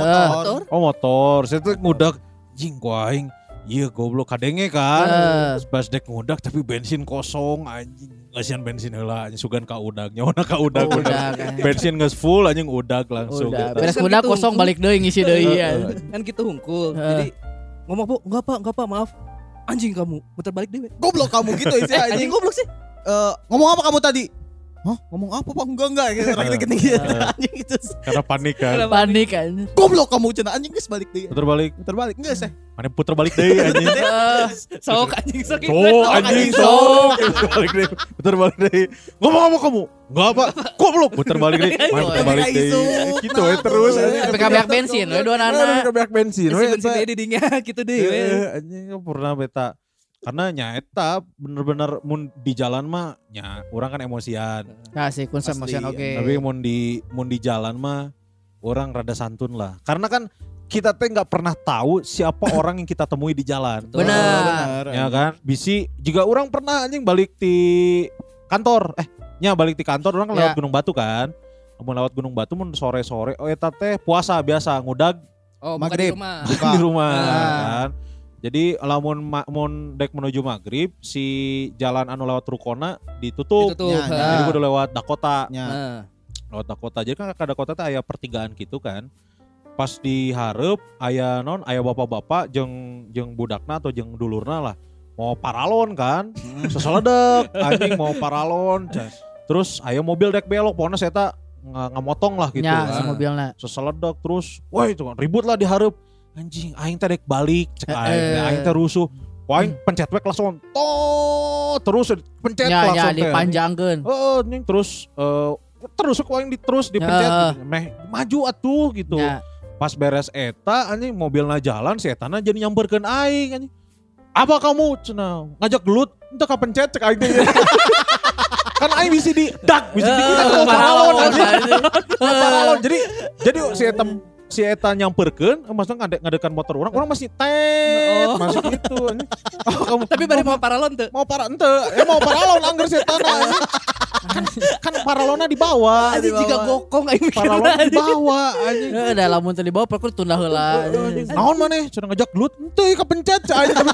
Motor. Saya teh ngudak jing aing. Iya goblok kadenge kan. Pas dek ngudak tapi bensin kosong anjing. Ngasihan bensin heula anjing sugan ka udag. Nyawana ka udag. Bensin geus full anjing udag langsung. Beres udag kosong balik deui ngisi deui. Kan gitu hungkul. Jadi ngomong bu, enggak pak maaf. Anjing kamu, muter balik deh. Goblok kamu gitu sih anjing goblok sih. Ngomong apa kamu tadi? Hah? Ngomong apa pak? Enggak gitu. Anjing gitu. Karena panik kan. Panik kan. Goblok kamu cenah anjing geus balik deui. Puter balik Enggak sih. Mana puter balik deui anjing. Sok anjing sok. Balik deui. Puter balik deui. Ngomong apa kamu? Enggak apa. Goblok puter balik deui. Puter balik deui. Gitu we terus anjing. Kabeh bensin we dua anak. Kabeh bensin we. Bensin deui didinya gitu deui we. Anjing pernah beta. Karena nyaeta bener-bener mun di jalan mah nya orang kan emosian. Nah sih kun emosian oke. Tapi mun di jalan mah orang rada santun lah. Karena kan kita teh nggak pernah tahu siapa orang yang kita temui di jalan. Benar. Ya kan? Bisi juga orang pernah anjing balik di kantor. Balik di kantor orang lewat Gunung Batu kan. Mun lewat Gunung Batu mun sore-sore eta teh puasa biasa ngudag. Oh, maghrib. Buka di rumah kan. Jadi lamun dek menuju maghrib si jalan anu lewat Rukona ditutup. Jadi kudu lewat Dakota. Lewat Dakota. Jadi kan ke Dakota teh aya pertigaan gitu kan. Pas di hareup aya bapak-bapak jeung budakna atau jeung dulurna lah mau paralon kan. Seseledek anjing mau paralon. Terus aya mobil dek belok pokona saya tak ngamotong lah gitu kan. Mobilna. Seseledek terus wah itu kan ribut lah di hareup. Anjing aing teh dek balik cek aing teh rusuh. Aing pencet wek langsung terus pencet langsung teh. Dipanjangkeun. Anjing terus terus aing terus dipencet meh maju atuh gitu. Pas beres eta anjing mobilna jalan si etana jadi nyamperkeun aing anjing. Apa kamu cenah ngajak gelut entah kapencet cek aing teh. Kan aing bisa di dak bisa di paralon anjing. Paralon jadi si eta nyamperkeun maksudnya ngadekan motor orang masih masih gitu anjing. Oh, kamu tapi bari mau paralon teu? Mau paralon anggar si etana. kan paralona dibawa jika gokong aing paralona dibawa anjing da lamun teh dibawa perkur tunda heula naon maneh cenah ngajak gelut henteu kapencet aing tapi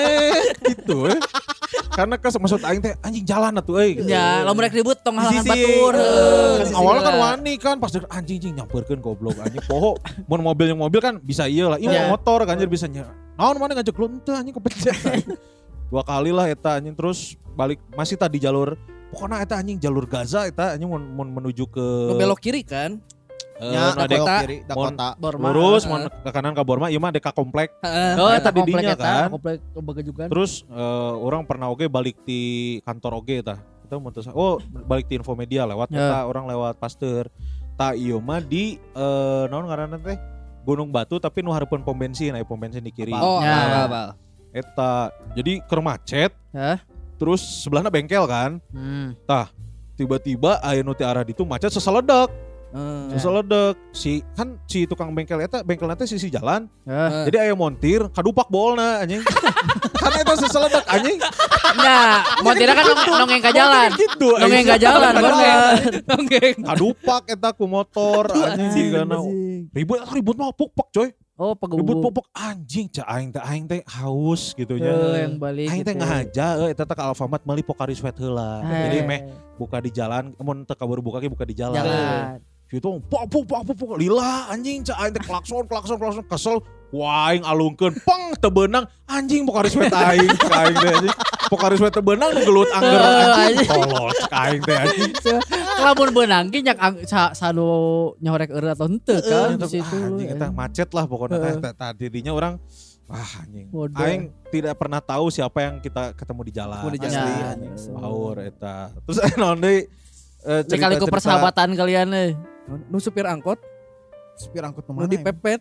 gitu karena maksud aing teh anjing jalan atuh euy ya lamun rek ribut tong halangan batur awalnya kan wani kan pas anjing nyamperkeun goblok anjing poho mun mobil kan bisa ieu lah ieu motor kan jadi bisa naon maneh ngajak gelut henteu anjing kapencet 2 kali lah eta anjing terus balik masih tadi jalur pokoknya eta anjing jalur Gaza eta anjing mau menuju ke belok kiri kan? Ya, belok kiri Dakota. Lurus mau ke kanan ke Borma, ieu mah deka komplek. Eta di dinya kan. Komplek Begajugan. Terus orang pernah oge balik di kantor oge tah. Kita mutus balik di Infomedia lewat eta orang lewat Pasteur. Tah ieu mah di naon ngaranna teh? Gunung Batu tapi nu hareupeun pom bensin, aya pom bensin di kiri. Oh, apa. Eta jadi keur macet. Terus sebelahnya bengkel kan. Tah, tiba-tiba aya nu ti arah ditu macet seseledak. Seseledak. Si tukang bengkel eta bengkelna teh sisi jalan. Jadi aya montir kadupak bolna anjing. Kan eta seseledak anjing. Nah, montirna kan nongeng ka jalan. Gitu, nongeng ka jalan bener. Nongeng. Kadupak eta ku motor anjing kana. Ribut mah puk-puk coy. Oh, ribut pupuk anjing cah aing teh haus gitu nya. Yang balik aing teh ngahaja eta teh ka Alfamart meuli Pocari Sweat heula. Jadi meh buka di jalan, mun teu kabur buka ge buka di jalan. Gitu puk lila anjing cah aing teh klakson kesel. Wah aing alungkeun pang teu beunang anjing Pocari Sweat aing aing teh anjing. Pocari Sweat teu beunang nu gelut angger anjing. Tolol aing teh anjing. Lamun beunang ge nyak sanu nyorek eureut atau henteu kan di situ. Anjing eta macet lah pokoknya tadi dinya orang anjing. Aing tidak pernah tahu siapa yang kita ketemu di jalan. Asli anjing. Baur eta. Terus naon deui cerita persahabatan kalian euy. Nu supir angkot nu dipepet.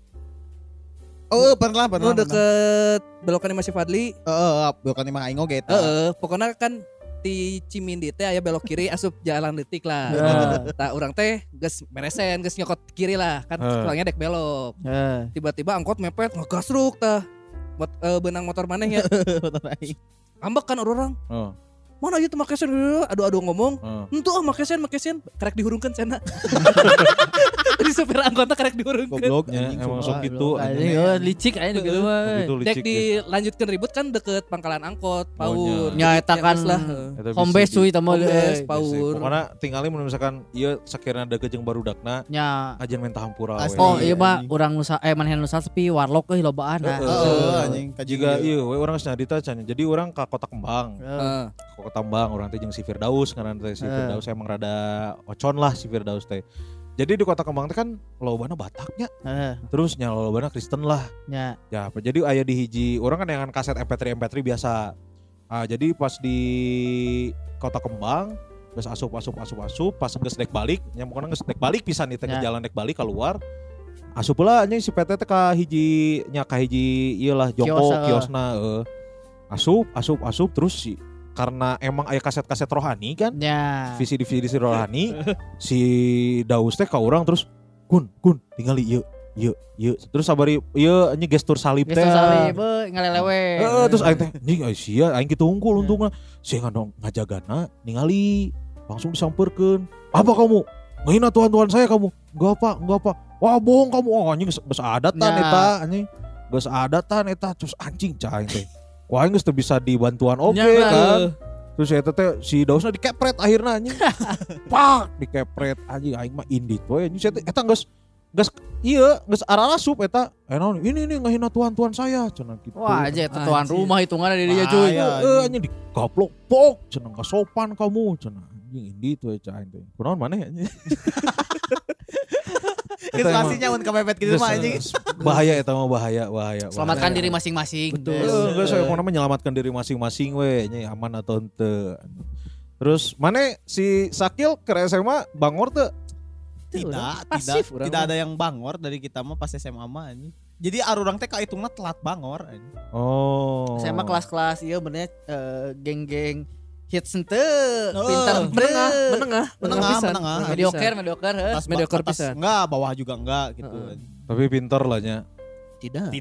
Oh pernah. Nu deket belokan masih Fadli. Belokan mah aing oge eta. Pokoknya kan di Cimindi teh aya belok kiri asup jalan leutik lah. Tah urang teh geus beresen, geus nyokot kiri lah, kan pulangnya dek belok. Tiba-tiba angkot mepet ngegasruk tah. Benang motor maneh ya. Motor aing. Ambek kan orang. Mana ieu teh make sen adu ngomong. Henteu make sen karek dihurungkeun cenah. Di supir angkotna karek dihurungkeun. Goblok emang sok gitu anjing. Licik aya gitu mah. Dek dilanjutkeun ribut kan deket pangkalan angkot, Paur. Nya eta kan home base cuy tah mah Paur. Pokona tingali mun misalkan ieu sakirana deukeut jeung barudakna nya ajeun minta hampura we. Oh ieu mah urang nusa maneh nusa sepi warlock euy lobaan. Anjing juga ieu we urang geus nyarita can. Jadi urang ka Kota Kembang. Kota Kembang orang teh jeung si Firdaus ngaranna teh si Firdaus emang rada ocon lah si Firdaus teh. Jadi di Kota Kembang teh kan lobana Bataknya. Terus nya lobana Kristen lah. Ya, jadi aya di hiji orang kan dengan kaset MP3 biasa. Jadi pas di Kota Kembang geus asup pas geus dek balik, nya pokona geus dek balik pisan di tengah jalan dek balik keluar. Asup heula anjing si PT teh ka hiji ieu lah jongko kiosna asup terus si karena emang aya kaset-kaset rohani kan visi rohani si Daus teh ka urang terus kun tinggali ieu terus sabari ieu nya gestur salib teh ngalelewe terus aing teh anjing sia aing kitu unggul untungna sia ngajagana ningali langsung disampeurkeun apa kamu ngahina tuhan saya kamu enggak apa wah bohong kamu anjing geus adatan eta anjing geus adatan eta terus anjing cah aing teh wah geus teu bisa dibantuan kan. Terus eta teh si Dausna dikepret akhirna anjing. Pak dikepret anjing aing mah indit we anjing eta geus arasup eta. Naon ini ngahina tuan saya cenah kitu. Wah aja eta tuan rumah hitunganna di dieu cuy. Anjing digaplok pok cenah ka sopan kamu cenah anjing indit we cah aing teh. Kunaon maneh anjing. Situasinya mun kepepet gitu mah anjing. Bahaya eta mah bahaya. Selamatkan diri masing-masing. Betul. Geus saya mau menyelamatkan diri masing-masing we nya aman atau henteu. Terus mana si Sakil ke SMA bangor teu? Tidak ada yang bangor dari kita mah pas SMA mah anjing. Jadi arurang teh kahitungna telat bangor anjing. Oh. SMA kelas-kelas ieu bener geng-geng hits henteu pintar menengah mediocre pisan. Enggak, bawah juga enggak gitu. Tapi pintar lah nya. Tidak.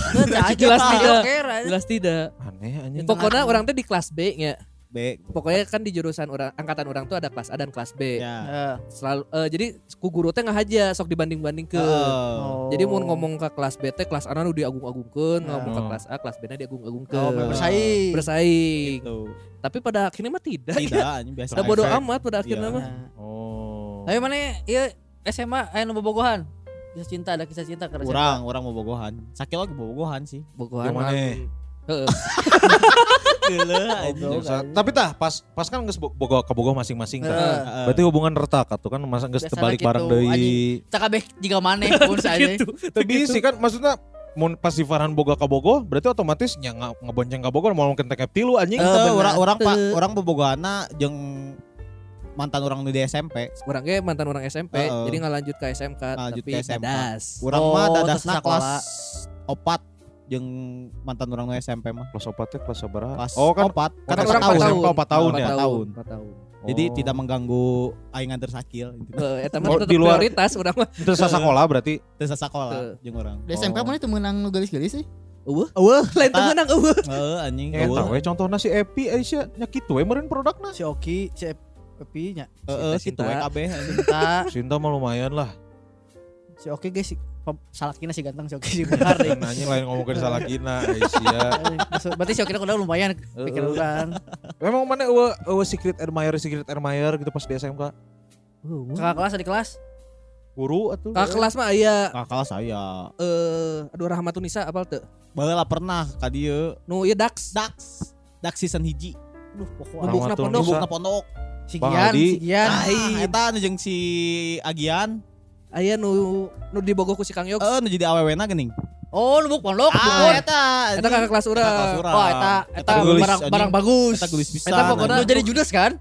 Jelas tidak. Aneh anjing. Pokoknya orang teh di kelas B nya. Pokoknya kan di jurusan angkatan orang tuh ada kelas A dan kelas B. Ya. Selalu jadi ku guru teh ngahaja sok dibanding-banding ke. Jadi mau ngomong ke kelas B teh kelas A nu diagung-agungkeun, ngomong ke kelas A, kelas B na diagung-agungkeun. Bersaing. Gitu. Tapi pada akhirnya mah tidak. Anjing biasa. Udah bodo amat pada akhirnya mah. Tapi mana ieu SMA aya nu bobogohan? Ada kisah cinta ke SMA. Orang mau bogohan. Sakit lagi bogohan sih. Bogohan. Heeh. Tapi pas kan geus boga masing-masing tah. Berarti hubungan retak atuh kan masa geus terbalik bareng deui. Cak kabeh jiga maneh pun saja. Tapi sih kan maksudnya mun pas si Farhan boga ka Bogo berarti otomatis nya ngebonceng ka Bogo mau mungkin tekep tilu anjing. Orang bobogohana jeung mantan orang di SMP. Orang ge mantan orang SMP. Jadi ngalanjut ke SMK tapi dadas. Urang mah dadas kelas 4 jeung mantan orang di SMP mah. Kelas 4 teh kelas sabaraha? Kan 4. Kan orang 4 tahun ya. 4 tahun. Jadi tidak mengganggu aing antar sakil gitu. Eta mah tetep prioritas urang mah. Teu sasakola berarti. Teu sasakola jeung urang. Di SMP mana teu meunang nu gelis-gelis sih? Lain teu meunang eueuh. Anjing. Eta we contohna si Epi Aisyah nya kitu we meureun produkna. Si Oki, si Epi nya. Kitu we kabeh anjing. Cinta mah lumayan lah. Si Oki guys salakina si ganteng si Oki si benar deh. Nanya lain ngomongin salakina Aisyah. Berarti si Oki udah lumayan pikir orang. Memang mana eueuh secret admirer gitu pas di SMK? Kakak kelas di kelas? Guru atuh. Kakak kelas mah aya. Kakak kelas aya. Aduh Rahmatunisa apal teu? Baheula pernah ka dieu. Nu ieu Dax season hiji. Aduh pokoknya Nubukna pondok. Si Gian. Eta nu jeung si Agian. Aya nu di Bogor ku si Kang Yogs. Nu jadi awewena geuning. Oh, nu pondok. Eta kakak kelas urang. Wah, eta barang bagus. Eta gelis pisan. Eta pokona jadi judes kan?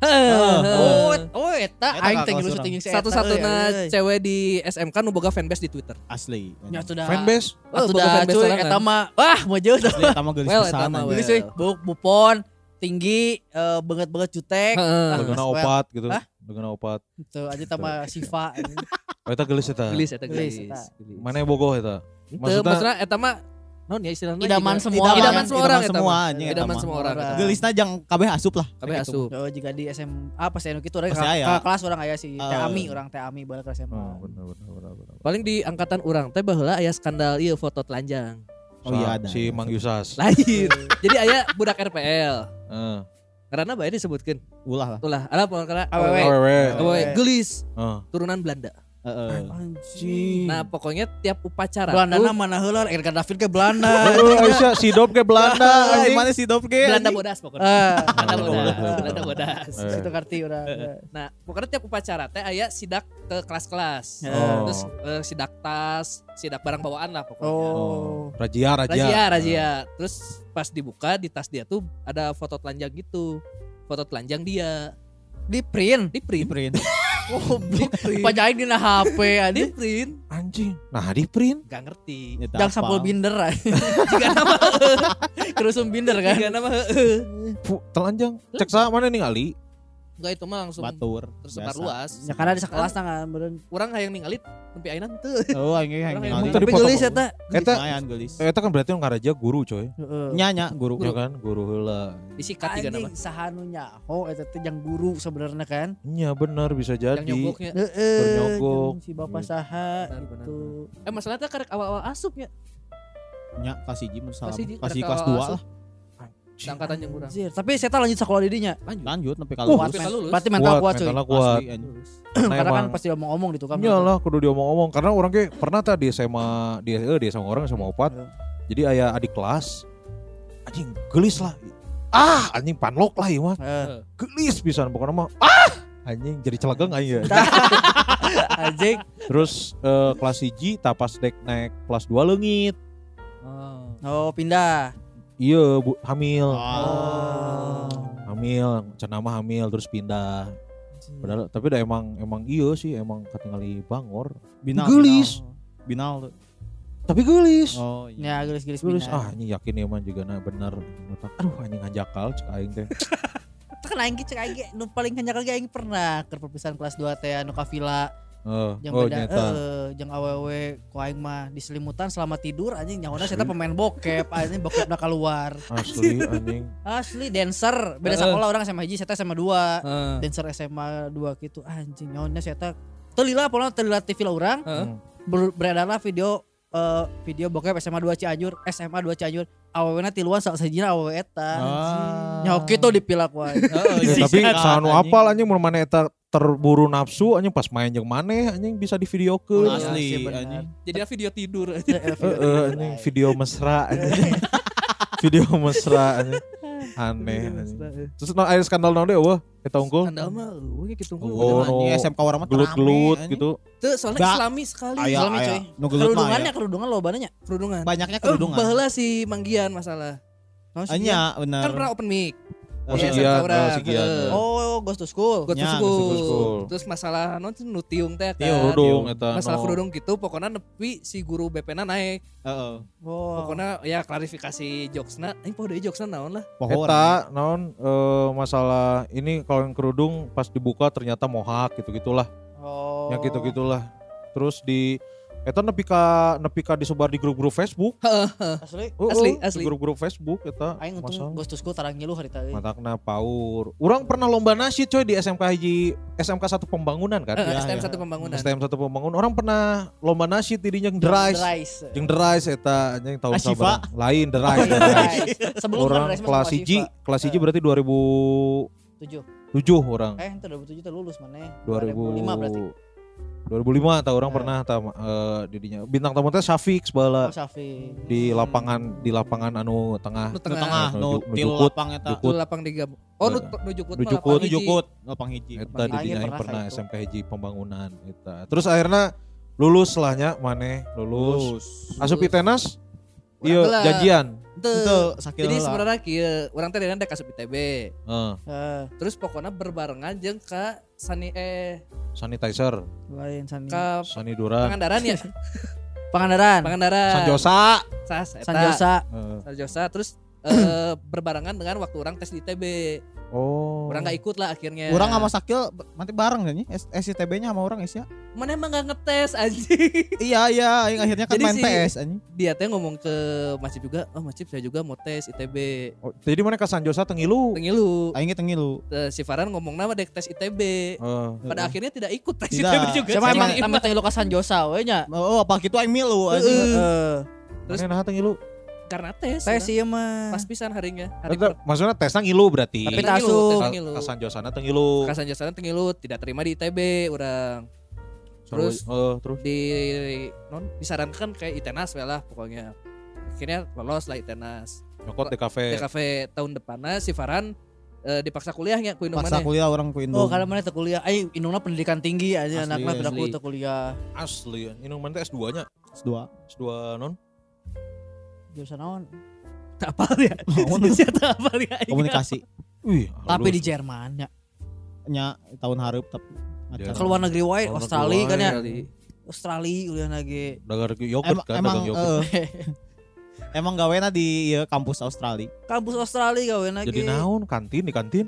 Eta aing teh ngilu syuting si satu-satuna cewek di SMK nu boga fanbase di Twitter. Asli. Nya sudah. Fanbase? Sudah cuy eta mah. Wah, mojo. Eta mah gelis pisan. Gelis euy. Bupon tinggi banget jutek. Bagana opat gitu. Bagana opat. Tuh aja tambah Siva. Eta gelis eta. Gelis. Mana bogoh eta? Maksudnya eta mah naon ya istilahnya idaman semua orang idaman semua orang. Gelisna jang kabeh asup lah. Kabeh asup. Oh jika di SMA pas anu kitu urang kelas urang aya si Teh Ami balik ke SMA. Bener. Paling di angkatan urang teh baheula aya skandal ieu foto telanjang. Oh iya ada. Si Mang Yusas. Lain. Jadi aya budak RPL. Karena bae disebutkeun. Ulah. Ada pokoknya Awewe. Gelis. Turunan Belanda. Anjing. Nah pokoknya tiap upacara Belanda mana heula Edgar David ke Belanda. Aisyah si Dop ke Belanda. Mana si Dop ke? Belanda bodas pokoknya. Belanda bodas. Situ karti urang. Nah pokoknya tiap upacara teh aya sidak ke kelas-kelas. Terus sidak tas, sidak barang bawaan lah pokoknya. Razia. Terus pas dibuka di tas dia tuh ada foto telanjang gitu. Foto telanjang dia. Di print. Oh, pajain dina HP di print. Anjing. Nah, di print. Gak ngerti. Jangan sampul binder. Jika nama kerusum binder kan. Jika nama telanjang. Cek sa mana ningali? Enggak itu mah langsung batur tersebar luas. Ya karena di sekelas kan beureun. Urang hayang ningali nepi ayeuna teu. Oh, aing ningali. Tapi geulis eta. Eta kan berarti ngaraja guru coy. Nya guru. Ya kan, guru heula. Disikat juga nama. Sahanu nyaho eta teh jang guru sebenarnya kan. Nya bener bisa jadi. Yang nyogoknya. Nyogok. Si bapak saha gitu. Masalahnya karek awal-awal asupnya. Nya kasih Jim salah. Kasih kelas 2 lah. Angkatan yang kurang. Tapi saya lagi sekolah di dinya. Lanjut sampai kalau berarti mental kuat cuy. Karena kan pasti diomong-omong gitu kan. Iyalah kudu diomong-omong karena orang ge pernah tadi SMA dia sama orang sama opat. Jadi aya adik kelas anjing gelis lah. Anjing panlok lah ieu mah. Gelis pisan pokoknya mah. Anjing jadi celegeng aing ya. Anjing. Terus kelas 1 tapas dek naik kelas 2 leungit. Oh, pindah. Iya hamil. Hamil, cenah mah hamil terus pindah. Padahal tapi udah emang iya sih emang katingali bangor. Gelis. Binal. Tapi gelis. Oh iya. Ya gelis Ini yakin ya man juga bener. Aduh anjing ngajakal cek aing teh. Kan aing cek aing nu paling ngajakal ge aing pernah ke perpisahan kelas 2 teh anu ka villa. Jeung awewe ku aing mah diselimutan selama tidur anjing nyawana saya pemain bokep anjing bokepna keluar. Asli anjing. Asli dancer beda sekolah orang SMA 1 saya SMA 2. Dancer SMA 2 gitu anjing nyawana saya teu lila pola teu lila TV lah urang. Beredarlah video bokep SMA 2 Cianjur awewena tiluan saksajina awewe eta. Nyaho kitu dipilak wae. Tapi sanu apal anjing mun maneh eta terburu nafsu anjing pas main jeung maneh anjing bisa divideokeun. Asli anjing. Jadi video tidur anjing video mesra anjing. Video mesra anjing. Aneh anjing. Terus aya skandal naon deui eueuh eta unggul? Skandal mah eueuh kitu unggul. Oh, SMK urang mah gelut gitu. Teu soalnya islami sekali. Islami coy. Kerudungannya loba nya. Kerudungan. Banyaknya kerudungan. Baheula si Manggian masalah. Anya bener. Kan pernah open mic. Sigian. Oh, Ghost to School. Terus masalah nutiung teh kan. Kerudung eta. Masalah kerudung gitu pokoknya nepi si guru BP-na naik. Oh. Pokoknya ya klarifikasi jokesna, poho deui jokesna naon lah. Eta naon masalah ini kalau yang kerudung pas dibuka ternyata mohak gitu-gitulah. Oh. Yang gitu-gitulah. Terus di eta nepi ka disebar di grup-grup Facebook. Asli. Di grup-grup Facebook eta. Aing untung Ghost to School tarang ngiluh harita euy. Matakna paur. Urang pernah lomba nasyid coy di SMK 1 Pembangunan kan. STM 1 Pembangunan. STM 1 Pembangunan. Orang pernah lomba nasyid di dinya Derais. Jeung Derais eta anjing tahun sabar. Lain Derais. Sebelum orang kelas 1 berarti 2007 orang. Itu 2007 teh lulus maneh. 2005 berarti. 2005 tah orang pernah didinya bintang tamu teh Syafiq bala. Syafiq. Di lapangan anu tengah. Nu til lapang eta. Nu lapang digabung. Oh nu jukut lapang hiji. Eta didinya aing pernah SMK hiji Pembangunan eta. Terus akhirnya lulus lah nya maneh lulus. Asup ITENAS ieu janjian. Teu. Jadi sebenarnya kieu urang teh dina dek asup ITB. Terus pokoknya berbarengan jeung ka sanitizer. Lain Sani Durang. Pangandaran ya. Pangandaran. Sanjosa. Sanjosa terus berbarengan dengan waktu orang tes di ITB. Oh. Orang gak ikut lah akhirnya. Orang sama Sakil nanti bareng kan SITB-nya sama orang ya. Mana emang gak ngetes anjing. Iya, akhirnya kan jadi main PS anjing. Dia teh ngomong ke Mas Cip juga, Mas Cip saya juga mau tes ITB. Oh, jadi mana ke Sanjosa tengilu. Aing tengilu. Si Farhan ngomong nama dek tes ITB. Pada akhirnya tidak ikut tes ITB juga. Sama emang tengilu ka Sanjosa we nya. Oh, apa gitu aing milu anjing. Terus mana tengilu? Karena tes iya mah. Pas pisan harinya. Maksudnya tesnya ngilu berarti. Tapi tasuk. Kasan Josana tengilu. Kasan Josana tengilu tidak terima di ITB orang. Terus disarankan kayak ITENAS lah pokoknya. Akhirnya lolos lah ITENAS. Nyokot di kafe tahun depannya si Farhan dipaksa kuliahnya ku Indung mana. Paksa kuliah orang ku Indung. Oh, kalau mana teh kuliah. Indungna pendidikan tinggi aja anakna bedaku teh kuliah. Asli. Indung mana teh S2-nya? S2 non? Jurusan naon? Tak apal ya. Tak apal ya. Komunikasi. Tapi di Jerman nya tahun hareup tapi keluar negeri wae Australia kan ya. Australia kuliah lagi. Dagang yogurt kan dagang yogurt. Emang gawena di kampus Australia. Kampus Australia gawena ge. Jadi naon kantin di kantin?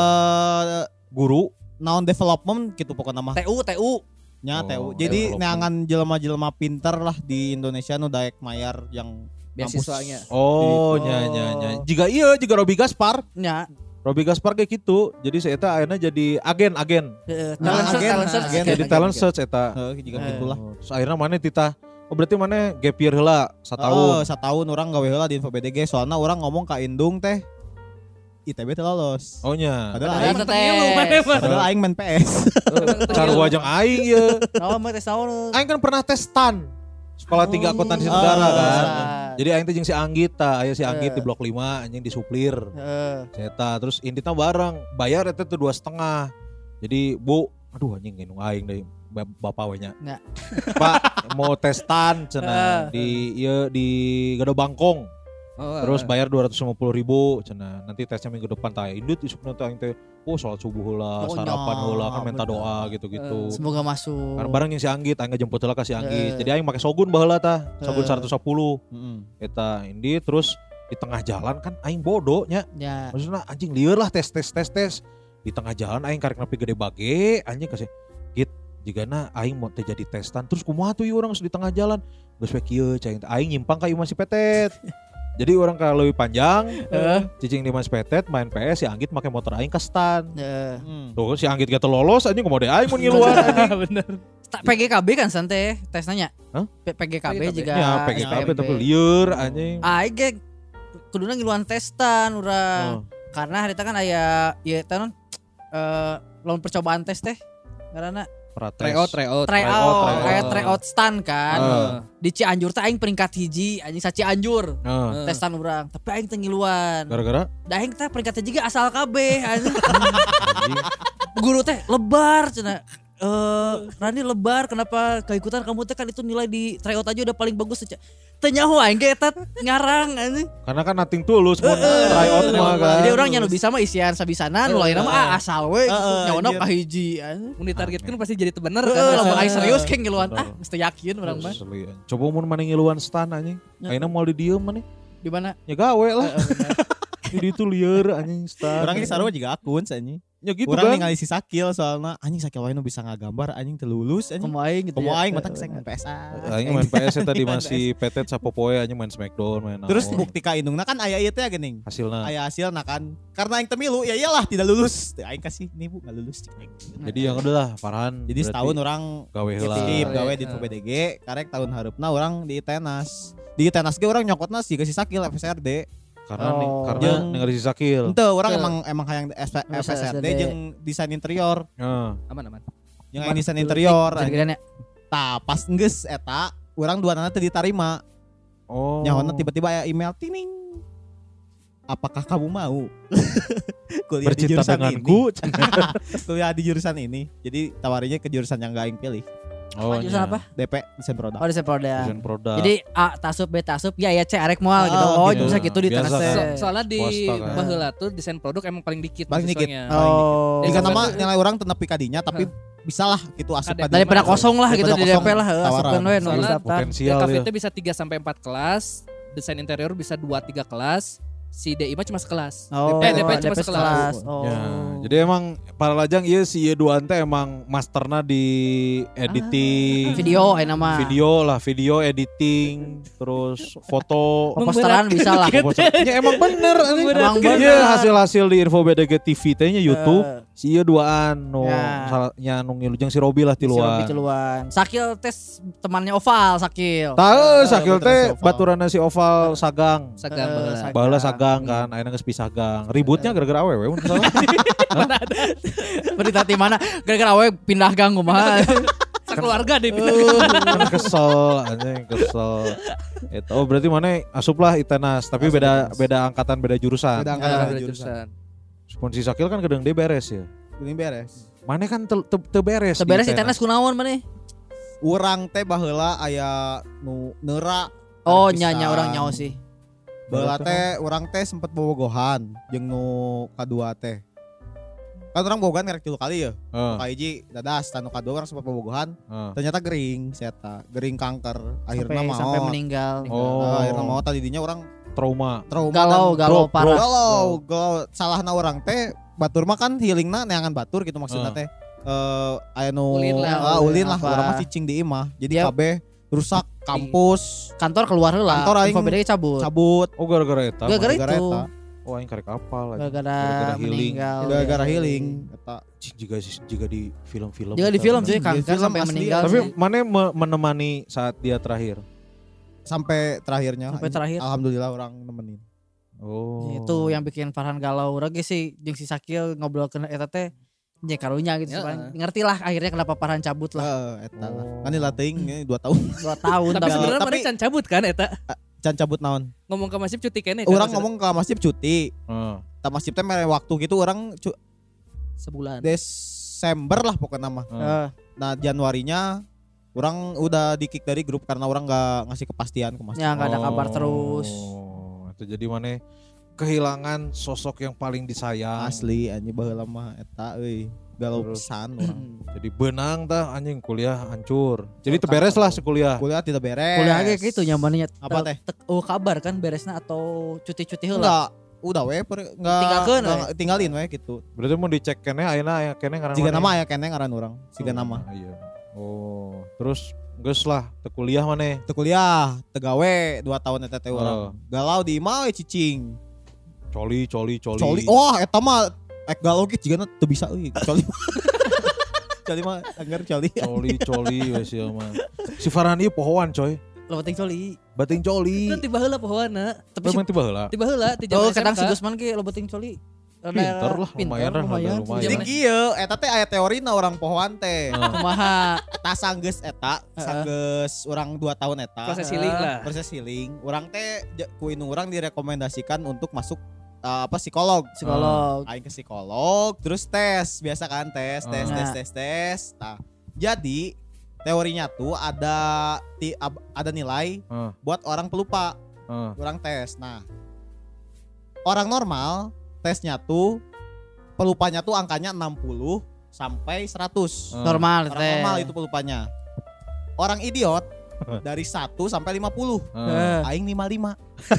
Guru naon development gitu pokoknya mah. TU. Nya TU. Jadi neangan jelema-jelema pinter lah di Indonesia nu daek mayar yang beasiswanya. Oh, nya. Juga Robi Gaspar. Nya. Robi Gaspar kayak gitu. Jadi saya eta akhirnya jadi agen. Talent search. Jadi talent search eta. Juga gitulah. Terus akhirnya mana titah. Oh berarti mana gap year heula 1 tahun. 1 tahun orang gawe heula di Info BDG soalnya orang ngomong ka Indung teh ITB teh lolos. Oh nya. Padahal aing main PS. Carua jeung aing ye. Naon mah tes naon? Aing kan pernah tes STAN. Sekolah 3 akuntansi negara kan. Jadi aing teh jeung si Anggit tah, aya si Anggit di blok 5 anjing di suplir. Eta terus Inditna bareng, bayar eta tuh 2,5. Jadi, Bu, aduh anjing nginung aing deui bapak we nya. Pak, mau tes STAN cenah di Gado Bangkong. Terus bayar 250.000 cenah. Nanti tesnya minggu depan tah indut isukna teh aing teh salat subuh heula, sarapan heula kan minta doa gitu-gitu. Semoga masuk. Karena bareng yang si Anggit, aing ngejemput heula ka si Anggit. Jadi aing make Shogun baheula tah, Shogun 110. Eta indit terus di tengah jalan kan aing bodoh nya. Ya. Maksudnya anjing lieur lah tes. Di tengah jalan aing karek nepi gede bage, anjing kasih git jigana aing mau teh jadi testan. Terus kumaha tuh orang di tengah jalan. Geus we kieu cai aing nyimpang ka Ieu Masih Petet. Jadi orang kalau lebih panjang, cicing di Mas Petet main PS, si Anggit pakai motor aing ke stand. Tuh si Anggit gak lolos, anjing kemode aing mau ngiluan. Bener. PGKB kan santai tes nanya. PGKB juga. Ya PGKB tapi liur anjing. Aing kuduna ngiluan testan urang. Karena hari itu kan aya ieu teh lawan percobaan tes teh. Karena tryout kayak tryout stand kan. Di Cianjur teh aing peringkat 1 anjing sa Cianjur. Testan urang, tapi aing teh ngiluan. Gara-gara da aing teh peringkat 3 asal kabeh anjing. Guru teh lebar cenah. Rani lebar kenapa keikutan kamu teh kan itu nilai di tryout aja udah paling bagus aja. Teu nyaho aing ge eta ngarang anjing. Karena kan nothing tulus mun tryout mah kan. Jadi orang nya nu bisa mah isian sabisanan, nu lainna mah asal we nyaona ka hiji anjing. Mun ditargetkeun pasti jadi teu bener kan. Lamun aing serius ke ngiluan mesti yakin urang mah. Coba mun maneh ngiluan stan anjing. Ayeuna moal di dieu maneh. Di mana? Ya gawe lah. Di itu lieur anjing stan. Urang ge sarua juga akun anjing. Ya gitu orang kan. ningali si Sakil soalnya anjing Sakil wae nu bisa ngagambar anjing teu lulus anjing. Komo aing gitu. Komo aing mata keseng main PS. Aing main PS tadi masih Petet sapopoe anjing main Smackdown main. Terus bukti ka indungna kan aya ieu teh geuning. Hasilna. Aya hasilna kan. Karena aing teu milu ya iyalah tidak lulus. Aing kasih nih Bu enggak lulus. Jadi yang udah lah Farhan. Jadi setahun orang gawe heula. Gawe di PDG karek tahun hareupna orang di Tenas. Di Tenas ge orang nyokotna si Sakil FSRD. Karena ningali si Sakil. Henteu orang emang hayang FSRD jeung desain interior. Aman. Yang desain interior. Tah pas geus eta urang duanana teu ditarima. Nyawana tiba-tiba aya email tining. Apakah kamu mau kuliah di jurusan denganku? Kuliah di jurusan ini. Jadi tawarinya ke jurusan yang gak aing pilih. Jurusan apa? DP desain produk. Desain produk. Jadi A tasup B tasup ya C arek moal gitu. Gitu. Bisa gitu di Tenas teh. Soalnya di baheula tuh desain produk emang paling dikit. Paling dikit. Jika nama nilai orang teu nepi ka dinya tapi bisalah gitu asup ka daripada kosong lah gitu di DP lah asupkeun we nu potensial. DKV itu bisa 3 sampai 4 kelas, desain interior bisa 2-3 kelas. Si DI mah cuma sekelas. DP cuma sekelas. Ya, jadi emang para lajang ieu si ieu duaan teh emang masterna di editing. Video nama. Video editing, terus foto. Posteran bisa lah. Ya emang bener. Emang bener. Hasil-hasil di Info BDG TV teh-nya YouTube. Si ieu duaan nya nu ngilu jeung si Robi lah tiluan. Sakil tes temannya Oval Sakil. Tahu Sakil teh baturana si Oval Sagang. Baheula Sagang kan, ayeuna geus pisah gang. Ributnya gara-gara awewe mun salah. Berita di mana? Gara-gara awewe pindah gang kumaha. Keluarga deh kesel itu berarti mana asup lah Itenas tapi beda angkatan beda jurusan. Pun si Sakil kan kadang dia beres ya. Beres. Mana kan teu beres. Teu beres Itenas kunaon maneh? Urang teh baheula aya nu neura. Oh nya orang nyaho sih. Baheula teh urang teh sempet bobogohan jeung nu kadua teh. Kan orang bobogohan karek 3 kali ya. Ka hiji dadas, tanu kadua orang sempet bobogohan. Ternyata gering si eta, gering kanker. Akhirna maot. Sampai meninggal. Akhirna maot tadi dinya orang trauma galau parah. Galau salahna orang teh batur mah kan healingna neangan batur gitu maksudna teh. Aya nu ulin lah urang mah cicing di imah. Jadi kabeh rusak kampus, kantor keluar heula. Kantor aing cabut. Oh gara-gara eta. Gara-gara itu. Oh aing karek apal aja. Gara-gara meninggal. Gara-gara healing eta. Juga di film-film. Juga di film sih kanker sampai meninggal. Tapi mana menemani saat dia terakhir? Sampai terakhirnya. Sampai terakhir. Alhamdulillah orang nemenin. Oh. Itu yang bikin Farhan galau. Urang ge sih jeung si Sakil ngobrol ke eta teh nya karunya gitu ngerti lah akhirnya kenapa Farhan cabut lah. Eta lah. Kan dilatih 2 tahun. 2 tahun tapi sebenarnya mana can cabut kan eta? Can cabut naon? Ngomong ke Masif cuti kene. Orang ngomong ke Masif cuti. Ta Masif teh mere waktu gitu orang sebulan. Desember lah pokoknya mah. Nah Januarinya orang udah di kick dari grup karena orang nggak ngasih kepastian ke Masif. Ya nggak ada kabar terus. jadi mana kehilangan sosok yang paling disayang. Asli anjing baheula mah eta euy. Galau pisan orang. Jadi benang tah anjing kuliah hancur. Jadi terberes lah sekuliah. Kuliah tidak beres. Kuliah ge kitu nyamannya. Apa teh? Kabar kan beresna atau cuti-cuti heula. Enggak. Udah we tinggalkeun tinggalin we gitu. Berarti mau dicek kene ayeuna aya kene ngaran. Siga nama aya kene ngaran urang. Siga nama. Iya. Oh, terus geus lah teu kuliah maneh. Teu kuliah, teu gawe 2 tahun eta teh urang. Galau di imah we cicing. Coli. Wah, eta mah ek galau ge jigana teu bisa euy. Coli. Coli mah anggar coli. Coli wes ieu mah. Si Farhan ieu pohoan coy. Lo bating coli. Itu tiba heula pohoanna. Tapi tiba heula. Ti zaman kadang si Gusman ge lo bating coli. Pinter lah, lumayan. Jadi kieu eta teh aya teorina orang pohoan teh. Kumaha? Eta sanggeus urang 2 tahun eta. Proses healing. Urang teh ku indung urang direkomendasikan untuk masuk psikolog. Aing ke psikolog, terus tes, biasa kan tes. Nah, jadi teorinya tuh ada nilai buat orang pelupa. Urang tes. Nah, orang normal tesnya tuh pelupanya tuh angkanya 60 sampai 100. Normal itu pelupanya. Orang idiot dari 1 sampai 50. Aing 55.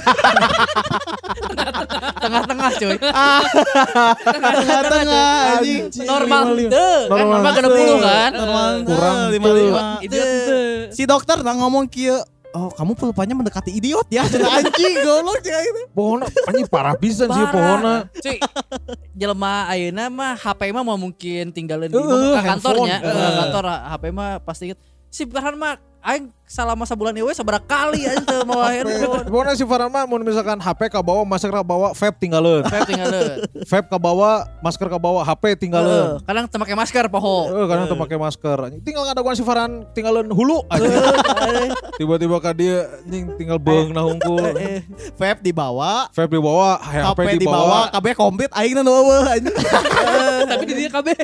Tengah-tengah cuy. Tengah-tengah anjing. Normal kan 60 kan. Normal kurang 55. Itu si dokter udah ngomong kieu. Oh, kamu pelupanya mendekati idiot ya. Cenah anjing goblok cenah itu. Pohona anjing parah pisan sih pohona. Cuy. Jelema ayeuna mah HP mah mungkin tinggalin di kantornya. Kantor HP mah pasti si Farhan mah aing selama sebulan ieu sabaraha kali aing teu mawa handphone. Pokona si Farhan mah mun misalkan HP ka bawa, masker ka bawa, vape tinggalin. Vape ka bawa, masker ka bawa, HP tinggalin. Kadang teu make masker poho. Kadang teu make masker. Tinggal ngadaguan si Farhan tinggalin hulu aja. Tiba-tiba ka dia anjing tinggal beungna hungkul. Vape dibawa, HP dibawa, kabeh komplit aing nu eueuh anjing. Tapi di dia kabeh.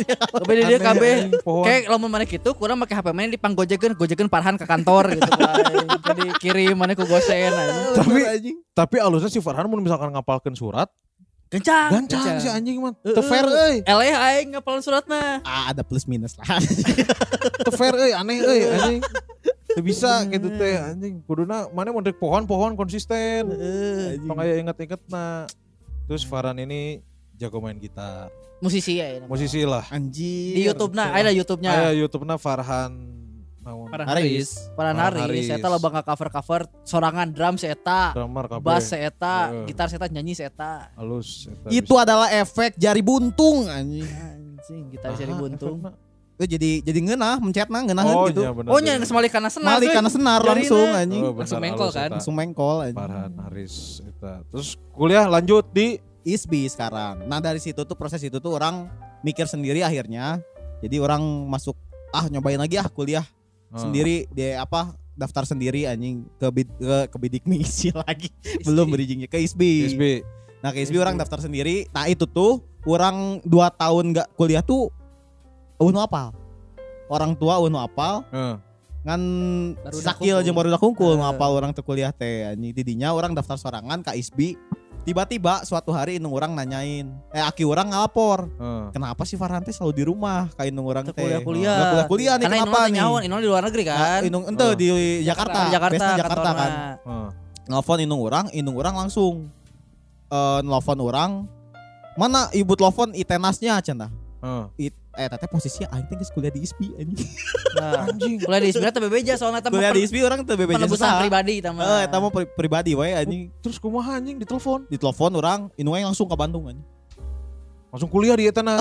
Kayak lamun maneh kitu kurang make HP maneh dipanggojekeun Farhan ke kantor gitu kan. Jadi kirim maneh ku gosen aja. Tapi alusnya si Farhan mun misalkan ngapalkeun surat Gancang si anjing mah. Teu fair euy. Eleh aing ngapalin surat mah. Ada plus minus lah. Teu fair euy, aneh euy anjing. Teu bisa gitu teh anjing. Kuduna maneh mun rek pohon konsisten. Tong aya inget-ingetna. Terus Farhan ini jago main gitar. Musisi ya. Musisi lah. Anjing. Di YouTube-na, ada YouTube-nya. Ada YouTube-na Farhan Haris eta loba cover sorangan drum si eta, bass si eta, gitar si eta, nyanyi si eta. Halus eta. Itu adalah efek jari buntung anjing. Gitar jari buntung. Itu jadi ngeunah, mencetna ngeunaheun gitu. Oh nya geus malih kana senar. Malih kana senar langsung anjing. Langsung mengkol kan. Langsung mengkol anjing. Farhan Haris eta. Terus kuliah lanjut di ISBI sekarang. Nah dari situ tuh proses itu tuh orang mikir sendiri akhirnya. Jadi orang masuk nyobain lagi kuliah. Sendiri dia daftar sendiri anjing ke bidik misi lagi belum bridgingnya ke ISBI. Nah ke ISBI orang daftar sendiri. Nah itu tuh orang 2 tahun gak kuliah tuh nu apal orang tua nu apal ngan sakil jeung baru dakungkul nu apal orang teu kuliah teh anjing. Didinya orang daftar sorangan ke ISBI. Tiba-tiba suatu hari indung orang nanyain, aki orang ngalapor, kenapa sih Farhan teh selalu di rumah, kayak indung orang teh kuliah nih, kenapa nih? Indung di luar negeri kan? Indung ente di Jakarta kan? Nelfon indung orang langsung nelfon orang, mana ibu telepon itenasnya cenah. Teteh posisinya aing teh geus kuliah di ISBI anjing. Anjing. Kuliah di ISBI teh bebeja soalnya teh. Kuliah di ISBI orang teh bebeja. Penebusan pribadi tah mah. Eta mah pribadi we anjing. Terus kumaha anjing ditelepon? Ditelepon orang, indung langsung ke Bandung anjing. Langsung kuliah di Etenas.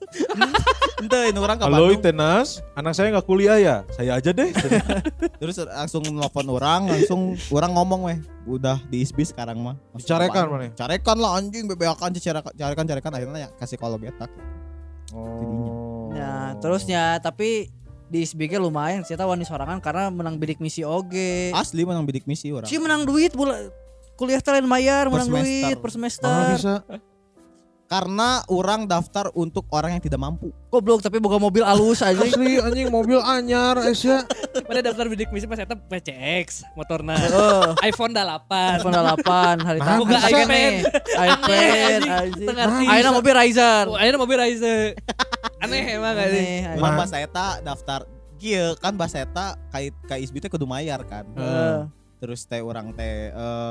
Ente indung orang ke Bandung. Halo Etenas, anak saya enggak kuliah ya? Saya aja deh. Terus langsung nelfon orang, langsung orang ngomong weh, udah di ISBI sekarang mah. Carekan mana? Carekan lah anjing, bebeakan carekan akhirnya ya kasih psikolog eta. Nah, terusnya tapi di SBG lumayan sih wani sorangan karena menang bidik misi oge. Asli menang bidik misi orang. Si menang duit kuliah teh lain mayar, menang duit per semester. Bisa. Karena orang daftar untuk orang yang tidak mampu. Goblok tapi boga mobil alus aja. Asli anjing mobil anyar Asia. Pada daftar bidik misi pas eta PCX motorna. iPhone 8. iPhone 8 hari tahu Boga iPad. iPad anjing. Ayeuna mobil Rizer. Ayeuna mobil Rizer. Aneh emang anjing. Urang bahasa eta daftar kieu kan bahasa eta KISB teh kudu mayar kan. Terus teh urang teh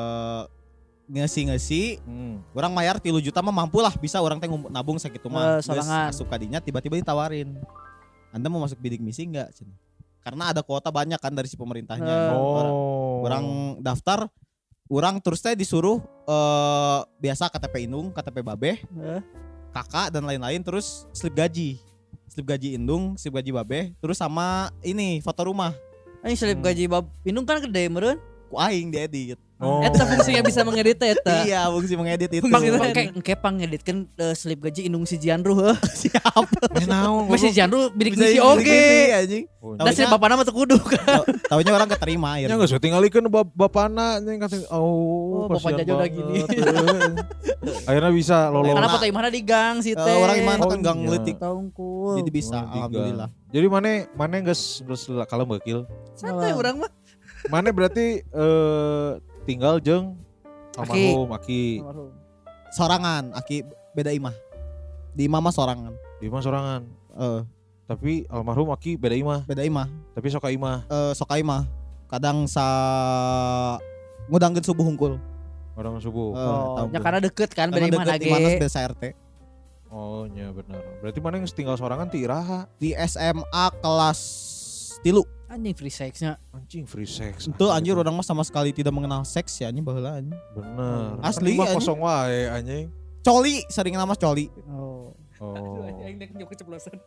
ngesi orang mayar 3 juta mah mampu lah bisa orang teh nabung sakitu mah masuk kadinya tiba-tiba ditawarin Anda mau masuk bidik misi enggak karena ada kuota banyak kan dari si pemerintahnya orang daftar orang terus teh disuruh biasa KTP indung KTP babeh kakak dan lain-lain terus slip gaji indung slip gaji babeh terus sama ini foto rumah ini slip gaji indung kan gede meureun ku aing diedit. Eta fungsinya bisa mengedit eta. Iya, fungsi mengedit itu. Engke pangeditkeun slip gaji indung si Jianru heuh. Siap. Naon? Masih Jianru bidik misi oge. anjing. Da si bapana mah teu kudu kan. Taunya orang keterima ya. Ya geus tingalikeun bapana nya kata bapak jajo udah gini. Akhirnya bisa lolos. Karena foto imahna di gang si teh. Orang imahna kan gang leutik. Taungkul. Jadi bisa alhamdulillah. Jadi mana geus kalem bakil. Santai urang mah. Mana berarti tinggal jeung almarhum Aki. Sorangan, Aki beda imah. Di imah mah sorangan. Di imah sorangan. Tapi almarhum Aki beda imah. Beda imah. Tapi soka imah. Soka imah. Kadang ngudangkeun subuh hungkul. Ngudangkeun subuh. Ya karena deket kan beda imah lagi. Di beda RT. Oh nya benar. Berarti mana yang tinggal sorangan ti Iraha. Di SMA kelas 3. Anjing free sex-nya. Anjing free sex. Itu anjir orang mah sama sekali tidak mengenal seks ya anjing baheula anjing. Bener. Asli anjing. Kosong wae anjing. Coli sering nama coli. Oh. Aing nek nyok keceplosan.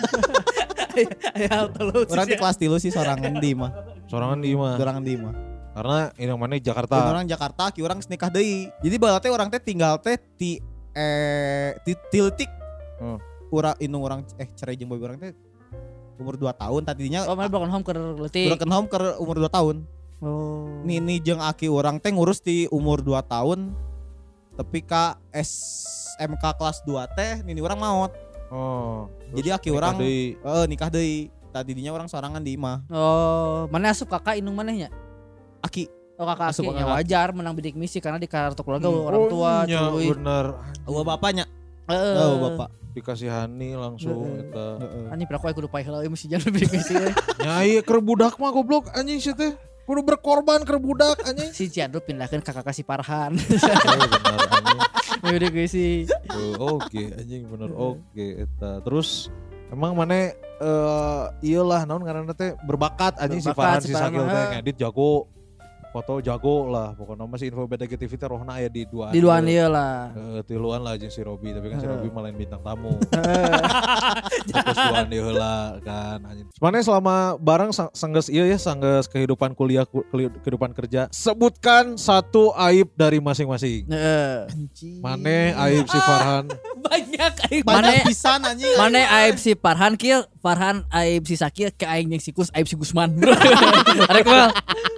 Orang di kelas 3 sih sorangan di imah. Sorangan di imah. Sorangan di imah. Karena ini mana Jakarta. Orang Jakarta ki orang nikah deui. Jadi baheula teh orang teh tinggal teh ti leutik. Urang indung orang cerai jeung boy orang teh umur 2 tahun tadinya. Oh, mana broken home ke leutik. Broken home ke umur 2 tahun. Oh. Nini jeung Aki orang teh ngurus di umur 2 tahun. Tapi ka SMK kelas 2 teh nini orang maot. Oh. Jadi Aki orang nikah deui. Tadinya orang sorangan di imah. Oh, mana asup kakak indung manehnya? Aki. Oh, kakak Aki nya wajar menang bidik misi karena di kartu keluarga orang tua cuy. Bener. Bapaknya. Bapak. Dikasihani langsung eta. Anjing piraku kudu paeh heula mesti jangan bidik misi. Nyai keur budak mah goblok anjing sih teh. Kudu berkorban keur budak anjing. Si Jandro pindahkeun ka kakak si Farhan. Bener anjing. Bidik misi. Oke anjing bener oke eta. Terus emang mana iyalah naon ngaranna teh berbakat anjing si Farhan si Sakil teh ngedit jago. Foto jago lah pokoknya masih info beda TV teh rohna aya di 2. Di 2 ieu lah. 3 lah jeung si Robi tapi kan si Robi malah bintang tamu. Fokus 2 deui heula kan anjing. Mane selama bareng sanggeus ieu ya sanggeus kehidupan kuliah kehidupan kerja sebutkan satu aib dari masing-masing. Mane aib si Farhan. Banyak aib. Banyak pisan anjing. Mane aib si Farhan kieu, Farhan aib si Sakil ke aing jeung si Kus aib si Gusman. Arek mah.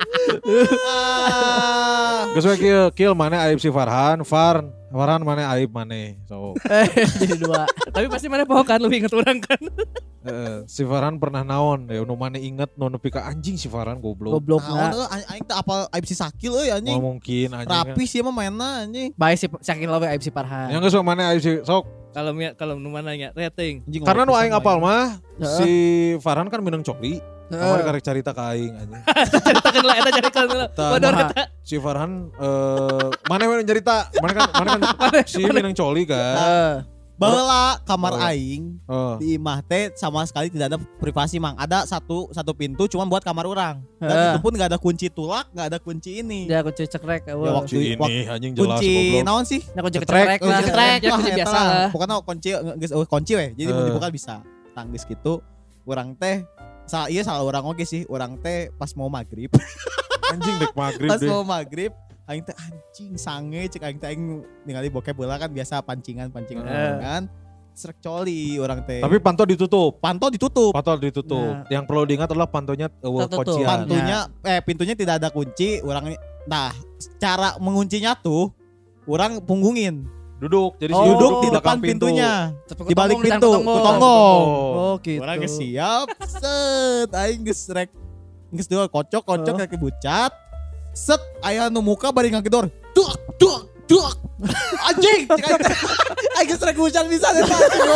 Geus we kieu mana aib si Farhan mana aib mana so. Jadi 2. Tapi pasti mana poho kan lu inget orang kan. Si Farhan pernah naon ya nu mana inget nu nepi ka anjing si Farhan goblok. Goblokna. Aing teh apal aib si Sakil euy anjing. Mungkin anjing. Rapi sih mah mainna anjing. Bae si Sakil we aib si Farhan. Yang geus mana aib si sok. Kalau nu mana nya rating. Karena nu aing apal mah si Farhan kan minang coli. Kamari karek carita ka aing anjing. Caritakeun lah eta caritakeun lah. Bodor eta. Si Farhan mana we nyarita? Mana kan si minang coli kan. Baheula kamar aing di imah teh sama sekali tidak ada privasi mang. Ada satu pintu cuma buat kamar orang. Dan itu pun enggak ada kunci tulak, enggak ada kunci ini. Dia kunci cekrek. Ya waktu ini anjing jelas kunci naon sih? Ya kunci cekrek lah. Ya kunci biasa lah. Pokoknya kunci we. Jadi mau dibuka bisa. Tangis gitu. Urang teh salah orang oke sih. Orang teh pas mau maghrib. Anjing dek maghrib pas mau maghrib aing teh anjing sange cek aing teh ningali bokep bola kan biasa pancingan kan srek coli orang teh. Tapi pantau ditutup. Nah. Yang perlu diingat adalah pantonya kuncian. Pintunya tidak ada kunci. Orang cara menguncinya tuh orang punggungin. Duduk. Jadi duduk di depan pintunya. Di balik pintu, kutonggong. Oh gitu. Orang geus siap. Set, aing geus rek. Geus dua kocok kaki bucat. Set, aya nu muka bari ngagedor. Duak. Anjing. Aing geus rek hujan bisa eta.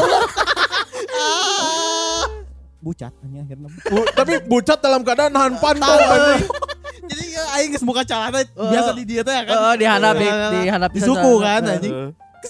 Bucat akhirnya. Tapi bucat dalam keadaan nahan pantau. Jadi aing geus muka calana biasa di dia teh kan. Dihandap di suku kan anjing.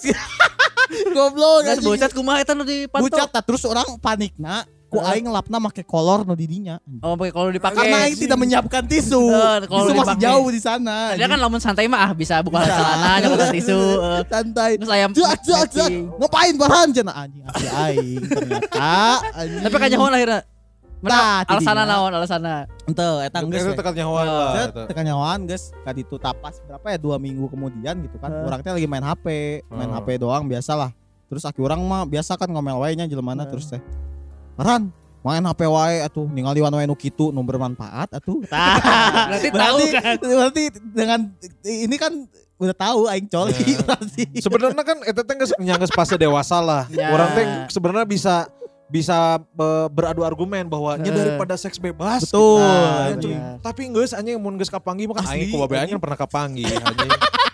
Goblok anjing. Bucat kumaha eta nu dipantau. Bucat terus orang panikna ku aing ngelapna make kolor nu di dinya. Oh, pakai kolor dipakai. Karena aing tidak menyiapkan tisu. Tisu masih jauh di sana. Dia kan lamun santai mah bisa buka celana nyoba tisu. Santai. Terus ayam. Ngapain Farhan cenah anjing aing ternyata anjing. Tapi kanyahoan akhirnya. Mana alasana naon alasana? Henteu eta geus. Itu tekan nyahoan lah. Tekan nyahoan geus ka ditu tapas berapa ya 2 minggu kemudian gitu kan. Urang teh lagi main HP doang biasalah. Terus aki urang mah biasa kan ngomel wae nya jelemana terus teh. Farhan, main HP wae atuh ningali wae nu kitu nu bermanfaat atuh. Berarti tahu kan. Berarti dengan ini kan udah tahu aing coli berarti. Sebenarnya kan eta teh geus fase dewasa lah. Orang teh sebenarnya bisa beradu argumen bahwa daripada seks bebas. Betul. Gitu. Tapi geus anjing mun geus kapanggi mah kan aing ku babe aing pernah kapanggi anjing.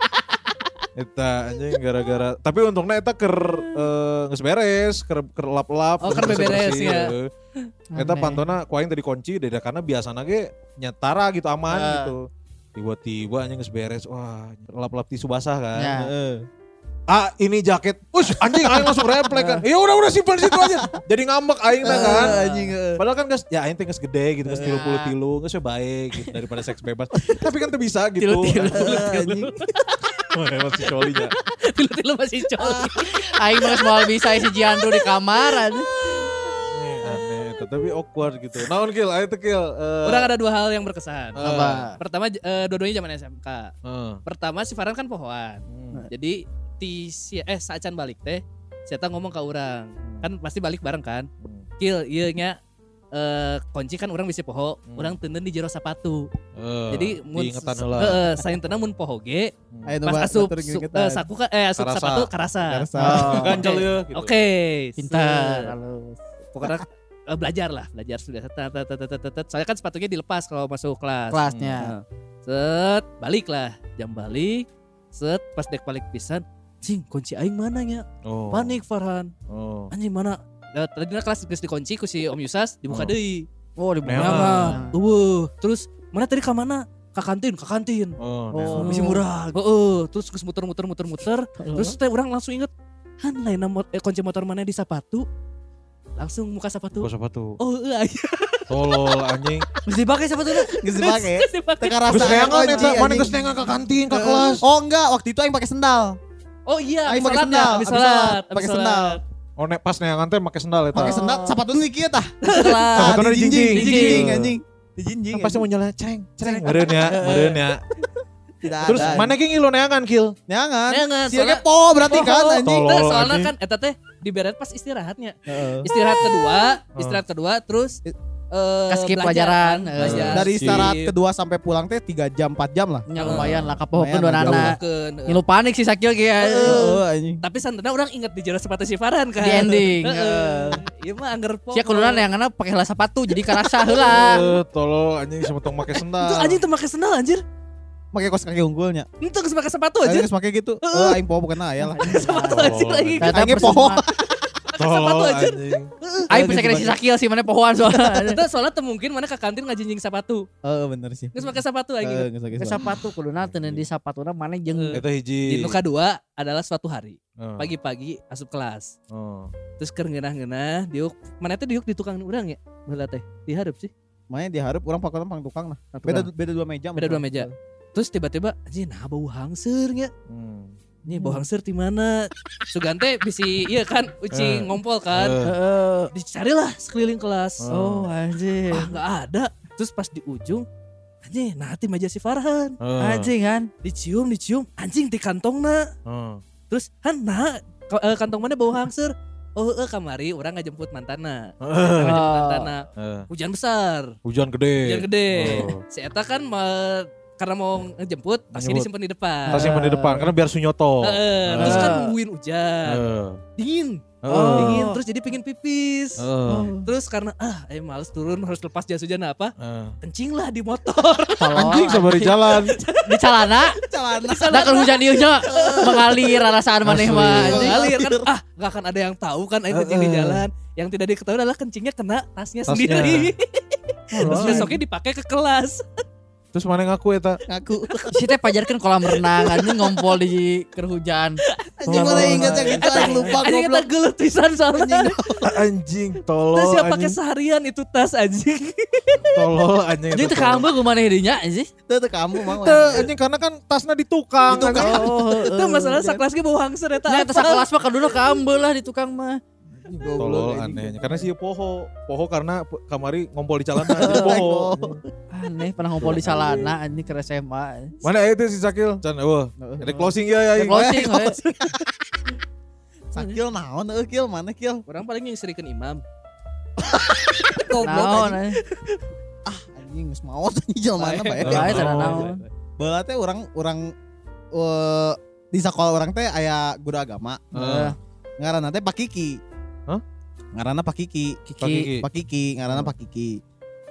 Eta anjing gara-gara tapi untungnya eta keur geus beres, keur lap-lap. Oh, keur beres ya. Eta pantona ku aing tadi kunci karena biasana ge nyetara gitu aman gitu. Tiba-tiba anjing geus beres. Wah, lap-lap tisu basah kan. Ini jaket. Anjing aing langsung refleks kan. Ya udah simpan situ aja. Jadi ngambek aing kan. Padahal kan geus ya aing teh geus gede gitu, geus 30 geus baik gitu daripada seks bebas. Tapi kan teu bisa gitu. Anjing. Masih colinya. Tilu masih coli. Aing mah moal bisa si Jiandro di kamar anjing. Aneh, tapi awkward gitu. Naon kill, ayo teh kill. Orang ada 2 hal yang berkesan. Apa? Pertama dua-duanya zaman SMK. Pertama si Farhan kan pohoan. Jadi saacan balik teh saya ngomong ke orang kan pasti balik bareng kan kill ieu nya kunci kan orang bisa poho orang teuneun di jero sapatu jadi mun saintena mun poho ge pas asup saku asup sapatu karasa ganjel ya gitu. Oke, pintar pokoknya belajar sudah soalnya kan sepatunya dilepas kalau masuk kelasnya set balik lah jam balik set pas dek balik pisan cing kunci aing mana nya panik Farhan anjing mana tadinya kelas geus dikunci ku si Om Yusas dibuka deui dibuka terus mana tadi ka mana ka kantin bisa murah terus geus muter terus teh urang langsung inget han lain kunci motor mana di sapatu langsung muka sapatu tolol anjing geus dipakai sapatuna geus dipakai teka rasa mana geus nengang ka kantin ka kelas enggak waktu itu aing pakai sendal. Oh iya, aing pakai sendal, pakai sendal. Oh nek pas neangan teh make sendal eta. Pakai sendal, sapatuna di kieu tah. Sapatuna di jinjing anjing. Di jinjing. Pasti mau nyala ceng. Meureun ya. Tidak ada. Terus mana ge ngilu neangan kill? Neangan. Sia ge po berarti kan anjing. Soalnya kan eta teh diberet pas istirahatnya. Istirahat kedua terus skip pelajaran. Dari istirahat kedua sampai pulang teh 3 jam 4 jam lah. Ya lumayan lah kapohokeun dua anak. Ngilu panik sih sakil ge. Tapi santana orang inget di jero sepatu si Farhan kan. Di ending. Ieu mah angger poho. Sia kulunan yang ngana pakai heula sepatu jadi karasa heula. Tolol anjing semetong make sendal. Itu anjing teu make sendal anjir. Make kos kaki unggulnya. Itu geus make sepatu anjir. Geus make gitu. Aing poho bukan aya lah. Sepatu anjir lagi. Aing poho. Sepatu anjir. Aing bisa kira si sakil sih mana pohoan soalnya. Soalnya teu mungkin mana ka kantin ngajinjing sepatu. Bener sih. Geus make sepatu aing. Ke sepatu kuduna teu di sapatuna mana jeung eta hiji. Di kedua adalah suatu hari. Pagi-pagi asup kelas. Terus keur ngeunah-ngeunah diuk mana teh diuk di tukang urang ya? Baheula teh. Dihareup sih. Mana dihareup urang pakotan pang tukang lah. Beda 2 meja. Beda 2 meja. Terus tiba-tiba anjing nah bau hangser nya. Nih bau hangser di mana? Sugante bisi iya kan uci ngompol kan. Dicarilah sekeliling kelas. Oh anjing. Enggak ada. Terus pas di ujung anjing nah ti meja si Farhan. Anjing kan dicium anjing di kantongna. Terus han nah kantong mana bau hangser. Kamari orang ngajemput mantana. Hujan besar. Hujan gede. Si eta kan karena mau ngejemput, tasnya disimpan di depan. Tas simpan di depan karena biar sunyoto. Terus kan nungguin hujan. Dingin. Dingin terus jadi pengen pipis. Terus karena males turun harus lepas jas hujan apa? Kencing lah di motor. Anjing sabar di jalan. Di celana. Dah kalau hujan dieunya mengalir rasaan maneh mah. Mengalir kan enggak akan ada yang tahu kan aing kencing di jalan. Yang tidak diketahui adalah kencingnya kena tasnya sendiri. Terus besoknya dipakai ke kelas. Terus mana ngaku eta? Ngaku. Si teh pajarkeun kolam renang anjing ngompol di keur hujan. Anjing mana ingat yang gitu aing lupa anjing goblok. Kita geuleuh pisan soalnya. Anjing tolol. Tas siapa pakai seharian itu tas anjing. Tolol anjing. Jadi teu kamu kumaha dinya anjing. Teu kamu mah. Anjing karena kan tasna di tukang. Itu masalah sakelas ge bau hangser eta. Nya eta sakelas mah kaduna kambeul lah di tukang mah. Tolol anehnya karena sih poho karena kamari ngompol di celana jadi poho. Aneh pernah ngompol di celana anjing ke SMA. Mana itu si Sakil? Can ada closing ya. Closing. Sakil naon Kil mana Kil? Orang paling ngisrikeun imam. Naon Anjing geus maot anjing jelema bae. Bae teh naon. Baheula teh urang di sekolah orang teh aya guru agama. Ngaranna teh Pak Kiki. Hah? Ngaranna Pak Kiki. Pak Kiki, ngaranna Pak Kiki.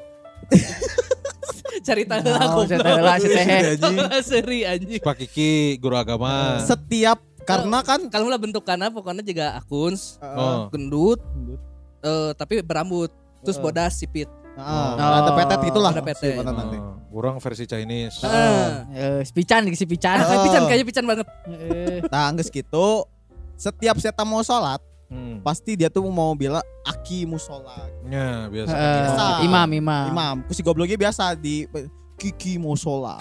Cerita heula si teh. Seri anjing. Pak Kiki guru agama. Setiap karena kan kalau lah bentukannya pokoknya juga akuns, gendut, tapi berambut, terus bodas sipit. Ada petet gitulah. Ada petet. Kurang versi Chinese. Si Pican. Kayaknya pican banget. Nah, geus kitu setiap seta mau sholat pasti dia tuh mau bilang aki musola. Ya biasa. Imam. Ku si gobloknya biasa di Kiki mau sholat.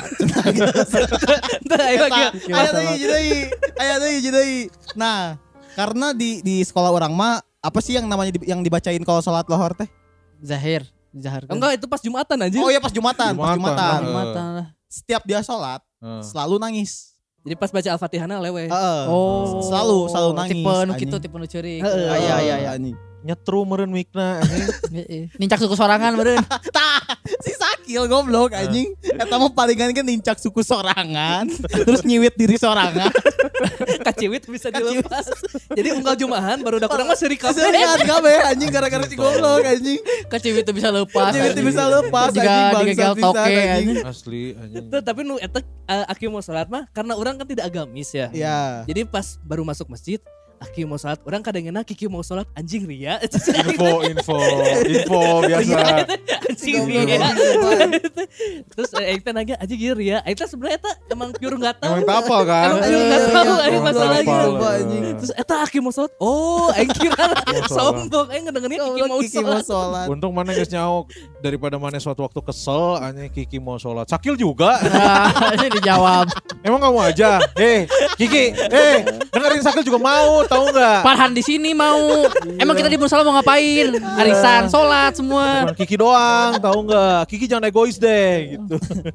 Aya deui. Nah, karena di sekolah orang mah apa sih yang namanya yang dibacain kalau sholat lohor teh? Zahir. Enggak, itu pas Jumatan aja. Oh iya pas Jumatan. Jumatan. Setiap dia sholat selalu nangis. Jadi pas baca Al-Fatihahna lewe. Selalu nangis. Tipe nu ceurik. Iya. Nyetru meureun mikna anjing. Nincak suku sorangan meureun. Tah, si Sakil goblok anjing. Eta mah palingan kan nincak suku sorangan, terus nyiwit diri sorangan. Kaciwit bisa dilepas. Jadi unggal Jumahan baru udah kurang mah seuri kabeh. Serian kabeh anjing gara-gara si goblok anjing. Kaciwit itu bisa lepas. Juga digegel toke anjing. Asli anjing. Tapi nu eta aki mau salat mah karena orang kan tidak agamis ya. Iya. Jadi pas baru masuk masjid Aki mau sholat, orang kadang-kadang Kiki mau sholat anjing ria. Info biasa. Anjing ria. Terus kita nanya anjing ria. Kita sebenarnya emang pure nggak tahu. Emang tapal kan? Emang pure nggak tahu. Masalah gitu. Terus Aki mau sholat. Oh, kira sombong. Ngedengerin Kiki mau sholat. Untung mana guys nyauk daripada mana suatu waktu kesel, anjing Kiki mau sholat. Sakil juga. Ini dijawab. Emang kamu aja. Kiki, dengerin Sakil juga mau. Tahu nggak? Farhan di sini mau. Emang kita di musola mau ngapain? Arisan, sholat semua. Cuman Kiki doang, tahu nggak? Kiki jangan egois deh, gitu.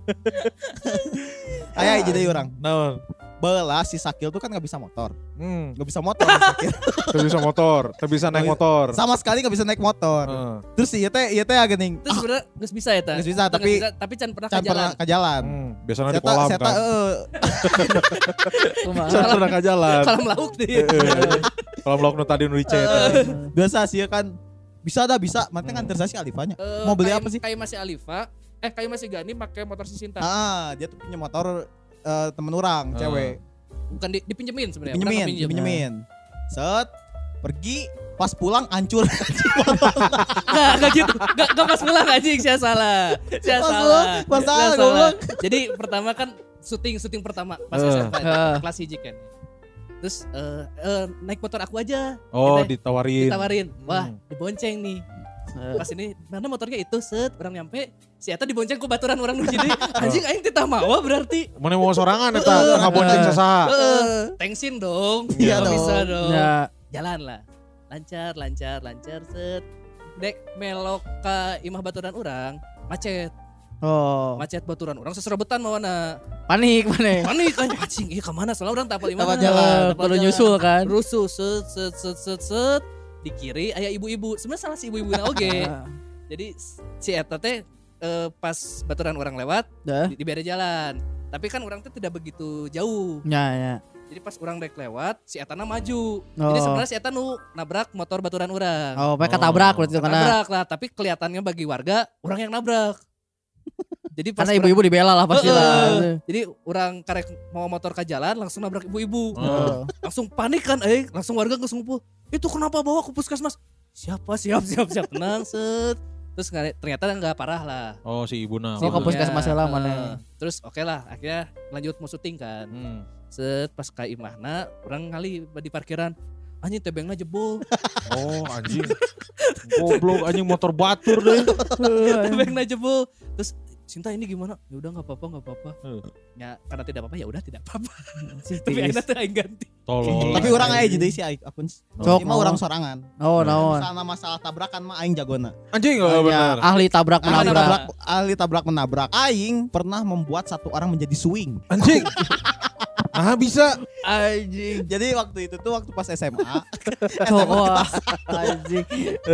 Ayah jadi orang. Nah, Bala si Sakil tuh kan nggak bisa motor. Nggak bisa motor. Nggak bisa motor, nggak bisa naik motor. Sama sekali nggak bisa naik motor. Terus iya teh agening. Terus sebenarnya nggak bisa ya teh. Nggak bisa tapi can pernah ke jalan. Biasanya di kolam kan. Can pernah ke jalan. Kolam lauk deh. Kolam lauk nu tadi nu dicet. Biasa sih kan. Bisa. Mantan nganter saya si Alifanya. Mau beli apa sih? Kayak masih Alifa. Kayak masih Gani pakai motor Sisinta. Dia tuh punya motor temen orang, cewek. Bukan dipinjemin sebenarnya. Dipinjemin. Set, pergi, pas pulang hancur. Enggak gitu. Enggak pas pulang anjing, saya salah. Pas salah. Jadi pertama kan syuting pertama pas SMA kelas 1 kan. Terus naik motor aku aja. Oh, ditawarin. Wah, dibonceng nih. Pas ini mana motornya itu orang nyampe si eta dibonceng ku baturan orang nu jadi anjing aing teh tah mawa berarti mana mau sorangan eta ngabonceng sasaha tengsin dong iya dong bisa dong ya. Jalan lah lancar dek melok ke imah baturan orang macet baturan orang seserebetan mawana panik anjing iya kemana soalnya orang tapal imah jalan perlu nyusul kan rusuh set di kiri aya ibu-ibu sebenarnya salah si ibu-ibu oge jadi si eta teh pas baturan orang lewat diberi jalan. Tapi kan orang tuh tidak begitu jauh. Ya. Jadi pas orang rek lewat, si etana maju. Jadi sebenarnya si eta nu nabrak motor baturan orang. Mereka tabrak berarti karena. Nabrak lah, tapi kelihatannya bagi warga orang yang nabrak. Jadi pas karena ibu-ibu dibela lah pasti lah. Jadi orang karek mau motor ke jalan langsung nabrak ibu-ibu. Langsung panik kan, langsung warga langsung ngumpul. Itu kenapa bawa ke puskesmas? Siap tenang set. Terus ternyata enggak parah lah. Oh si ibu nah. Ke puskesmas lah mana. Terus oke lah akhirnya lanjut mau syuting kan. Set pas ka imahna orang ngali di parkiran. Anjing tebengna jebol. Oh anjing. Goblok anjing motor batur deh. Tebengna jebol. Terus Sinta ini gimana? Ya udah enggak apa-apa. Ya karena tidak apa-apa ya udah tidak apa-apa. Tapi akhirnya teh aing ganti. Tolong. Tapi orang aya jadi si aing akun. Cuma orang sorangan. Naon. Masalah tabrakan mah aing jagona. Anjing benar. Ahli tabrak menabrak. Ahli tabrak menabrak. Aing pernah membuat satu orang menjadi swing. Anjing. Bisa. Anjing. Jadi waktu itu tuh waktu pas SMA. Anjing.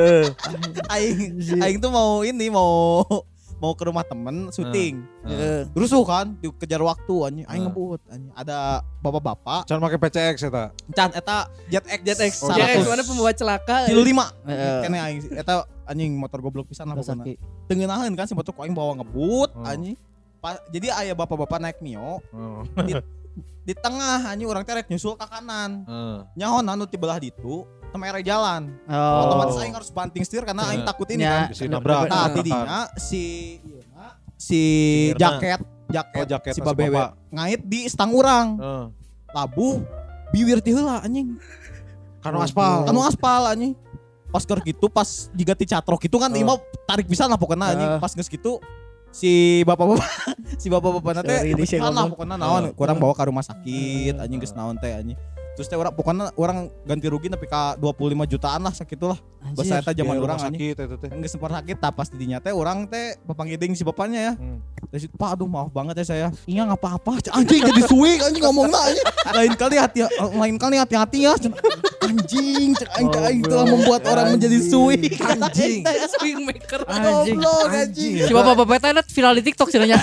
Aing tuh mau ke rumah temen syuting. Rusuh kan dikejar waktu anjing. Aing ngebut anjing. Ada bapak-bapak. Can make PCX eta. Can eta JetX. JetX mana pembawa celaka. 35. Kene aing eta anjing motor goblok pisan lah pokona. Tengenaheun kan si motor ku aing bawa ngebut anjing. Jadi aya bapak-bapak naik Mio. Di tengah anjing urang teh rek nyusul ke kanan. Nyaho anu ti belah ditu temere jalan. Otomatis aing harus banting setir karena aing takut ini kan. Si nabrak. Nah, tidinya si jaket si babewe ngait di stang urang. Labuh bibir ti heula anjing. Kanu aspal anjing. Pas keur kitu pas jiga ti catrok kitu kan imah tarik pisan lah pokona anjing. Pas geus kitu si bapak-bapak nanti lah pokoknya naon kurang bawa ke rumah sakit anjing geus naon teh anjing. Terus teh pokoknya orang ganti rugi tapi ka 25 jutaan lah sakitulah. Bahasa eta zaman urang sakit eta teh. Geus sempat sakit pas didinya teh urang teh papanggiding si bapaknya ya. Terus Pak aduh maaf banget ya saya. Iya enggak apa-apa. Anjing jadi swing anjing ngomongna anjing. Lain kali hati-hati ya. Anjing aing telah membuat orang menjadi swing. Anjing. Swing maker. Anjing. Si bapak-bapak teh viral di TikTok cenanya.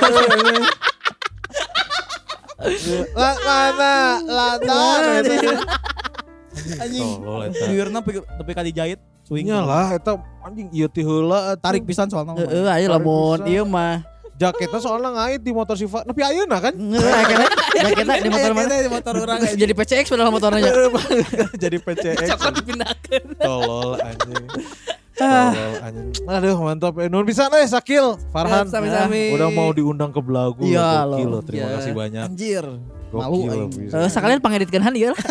Anjing biurna tapi kali jahit swingnya lah eta anjing ieu ti heula tarik pisan soalnya aya lamun ieu mah jaketnya soalnya ngait di motor Siva tapi ayeuna kan jaketnya di motor mana di motor urang jadi PCX padahal motornya jadi PCX cokot dipindahkeun tolol anjing. Aduh mantap. Nun bisa nih Sakil Farhan. Udah mau diundang ke Belagu. Iya loh. Terima kasih banyak. Anjir. Malu. Sekalian pangeditkeun han ieu lah.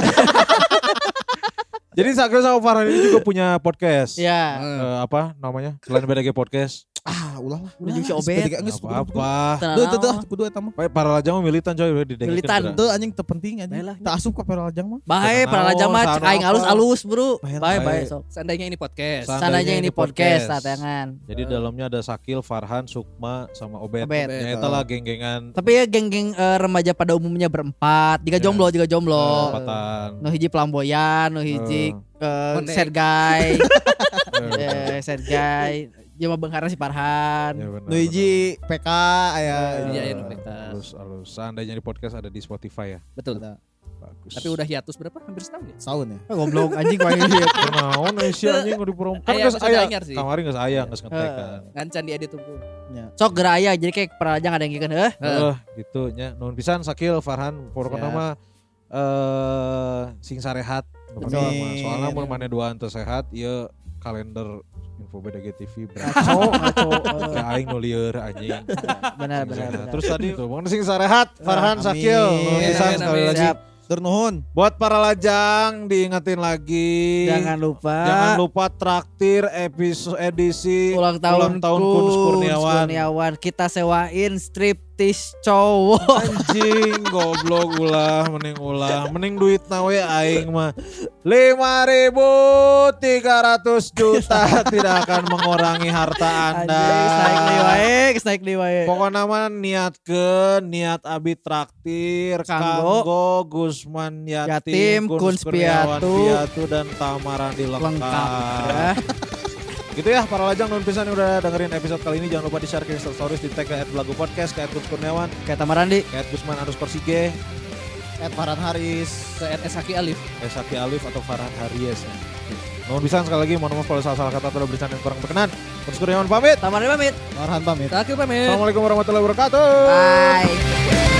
Jadi Sakil sama Farhan ini juga punya podcast. Iya. Apa namanya? Selain BDG Podcast. Ulah lah. Udah juga si Obet. Apa? Tuh kudu eta mah. Para lajang mah militan coy udah didengerin. Militan. Tuh anjing terpenting anjing. Tak asup ka para lajang mah. Bae para lajang mah aing alus-alus, Bro. Bae sok. Seandainya ini podcast. Sananya ini podcast tatangan. Jadi dalamnya ada Sakil, Farhan, Sukma sama Obet. Ya eta lah geng-gengan. Tapi ya geng-geng remaja pada umumnya berempat. Jika jomblo. Empatan. Nu hiji pelamboyan, nu hiji Sergay. Sergay. Cuma Bang si Farhan. Nu hiji PK aya. Iya PK. Alus. Seandainya di podcast ada di Spotify ya. Betul. Bagus. Tapi udah hiatus berapa? Hampir setahun ya? Setahun ya. Goblok anjing main hiatus. Naon Aisyah anjing udah diporong. Kan geus aya. Kamari geus aya geus ngetekan. Ngancan di edit tunggu. Sok geura aya jadi kayak perajang ada yang gikeun gitu nya. Nuhun pisan Sakil, Farhan, pokokna mah sing sarehat. Soalnya mun maneh duaan teu sehat ieu kalender info BDG TV ngaco aing nu lieur anjing. Benar. Terus tadi tuh mun sing sarehat Farhan Sakil nuhun pisan sekali lagi. Turnuhun. Buat para lajang diingetin lagi. Jangan lupa traktir edisi ulang tahun Kunz Kurniawan. Kita sewain striptease cowok. Anjing goblok mending duit nawe aing mah 5.300 juta tidak akan mengurangi harta Anda. Snaik li wae. Pokoknya mah niat abi traktir kanggo Gusman Yatim, Kunz Piatu dan Tamarandi lengkap. Gitu ya para lajang non pisan yang udah dengerin episode kali ini. Jangan lupa di share ke Insta Stories di tag ke @belagu_podcast, ke @Kurniawan, ke Tamarandi, ke @Gusman_Sige, Farhan Haris, ke Esaki Alif. Esaki Alif atau Farhan Haris. Mohon bisa sekali lagi mohon maaf kalau salah kata atau bercanda yang kurang berkenan. Kurniawan pamit. Tamarandi pamit. Farhan pamit. Taki pamit. Assalamualaikum warahmatullahi wabarakatuh. Bye.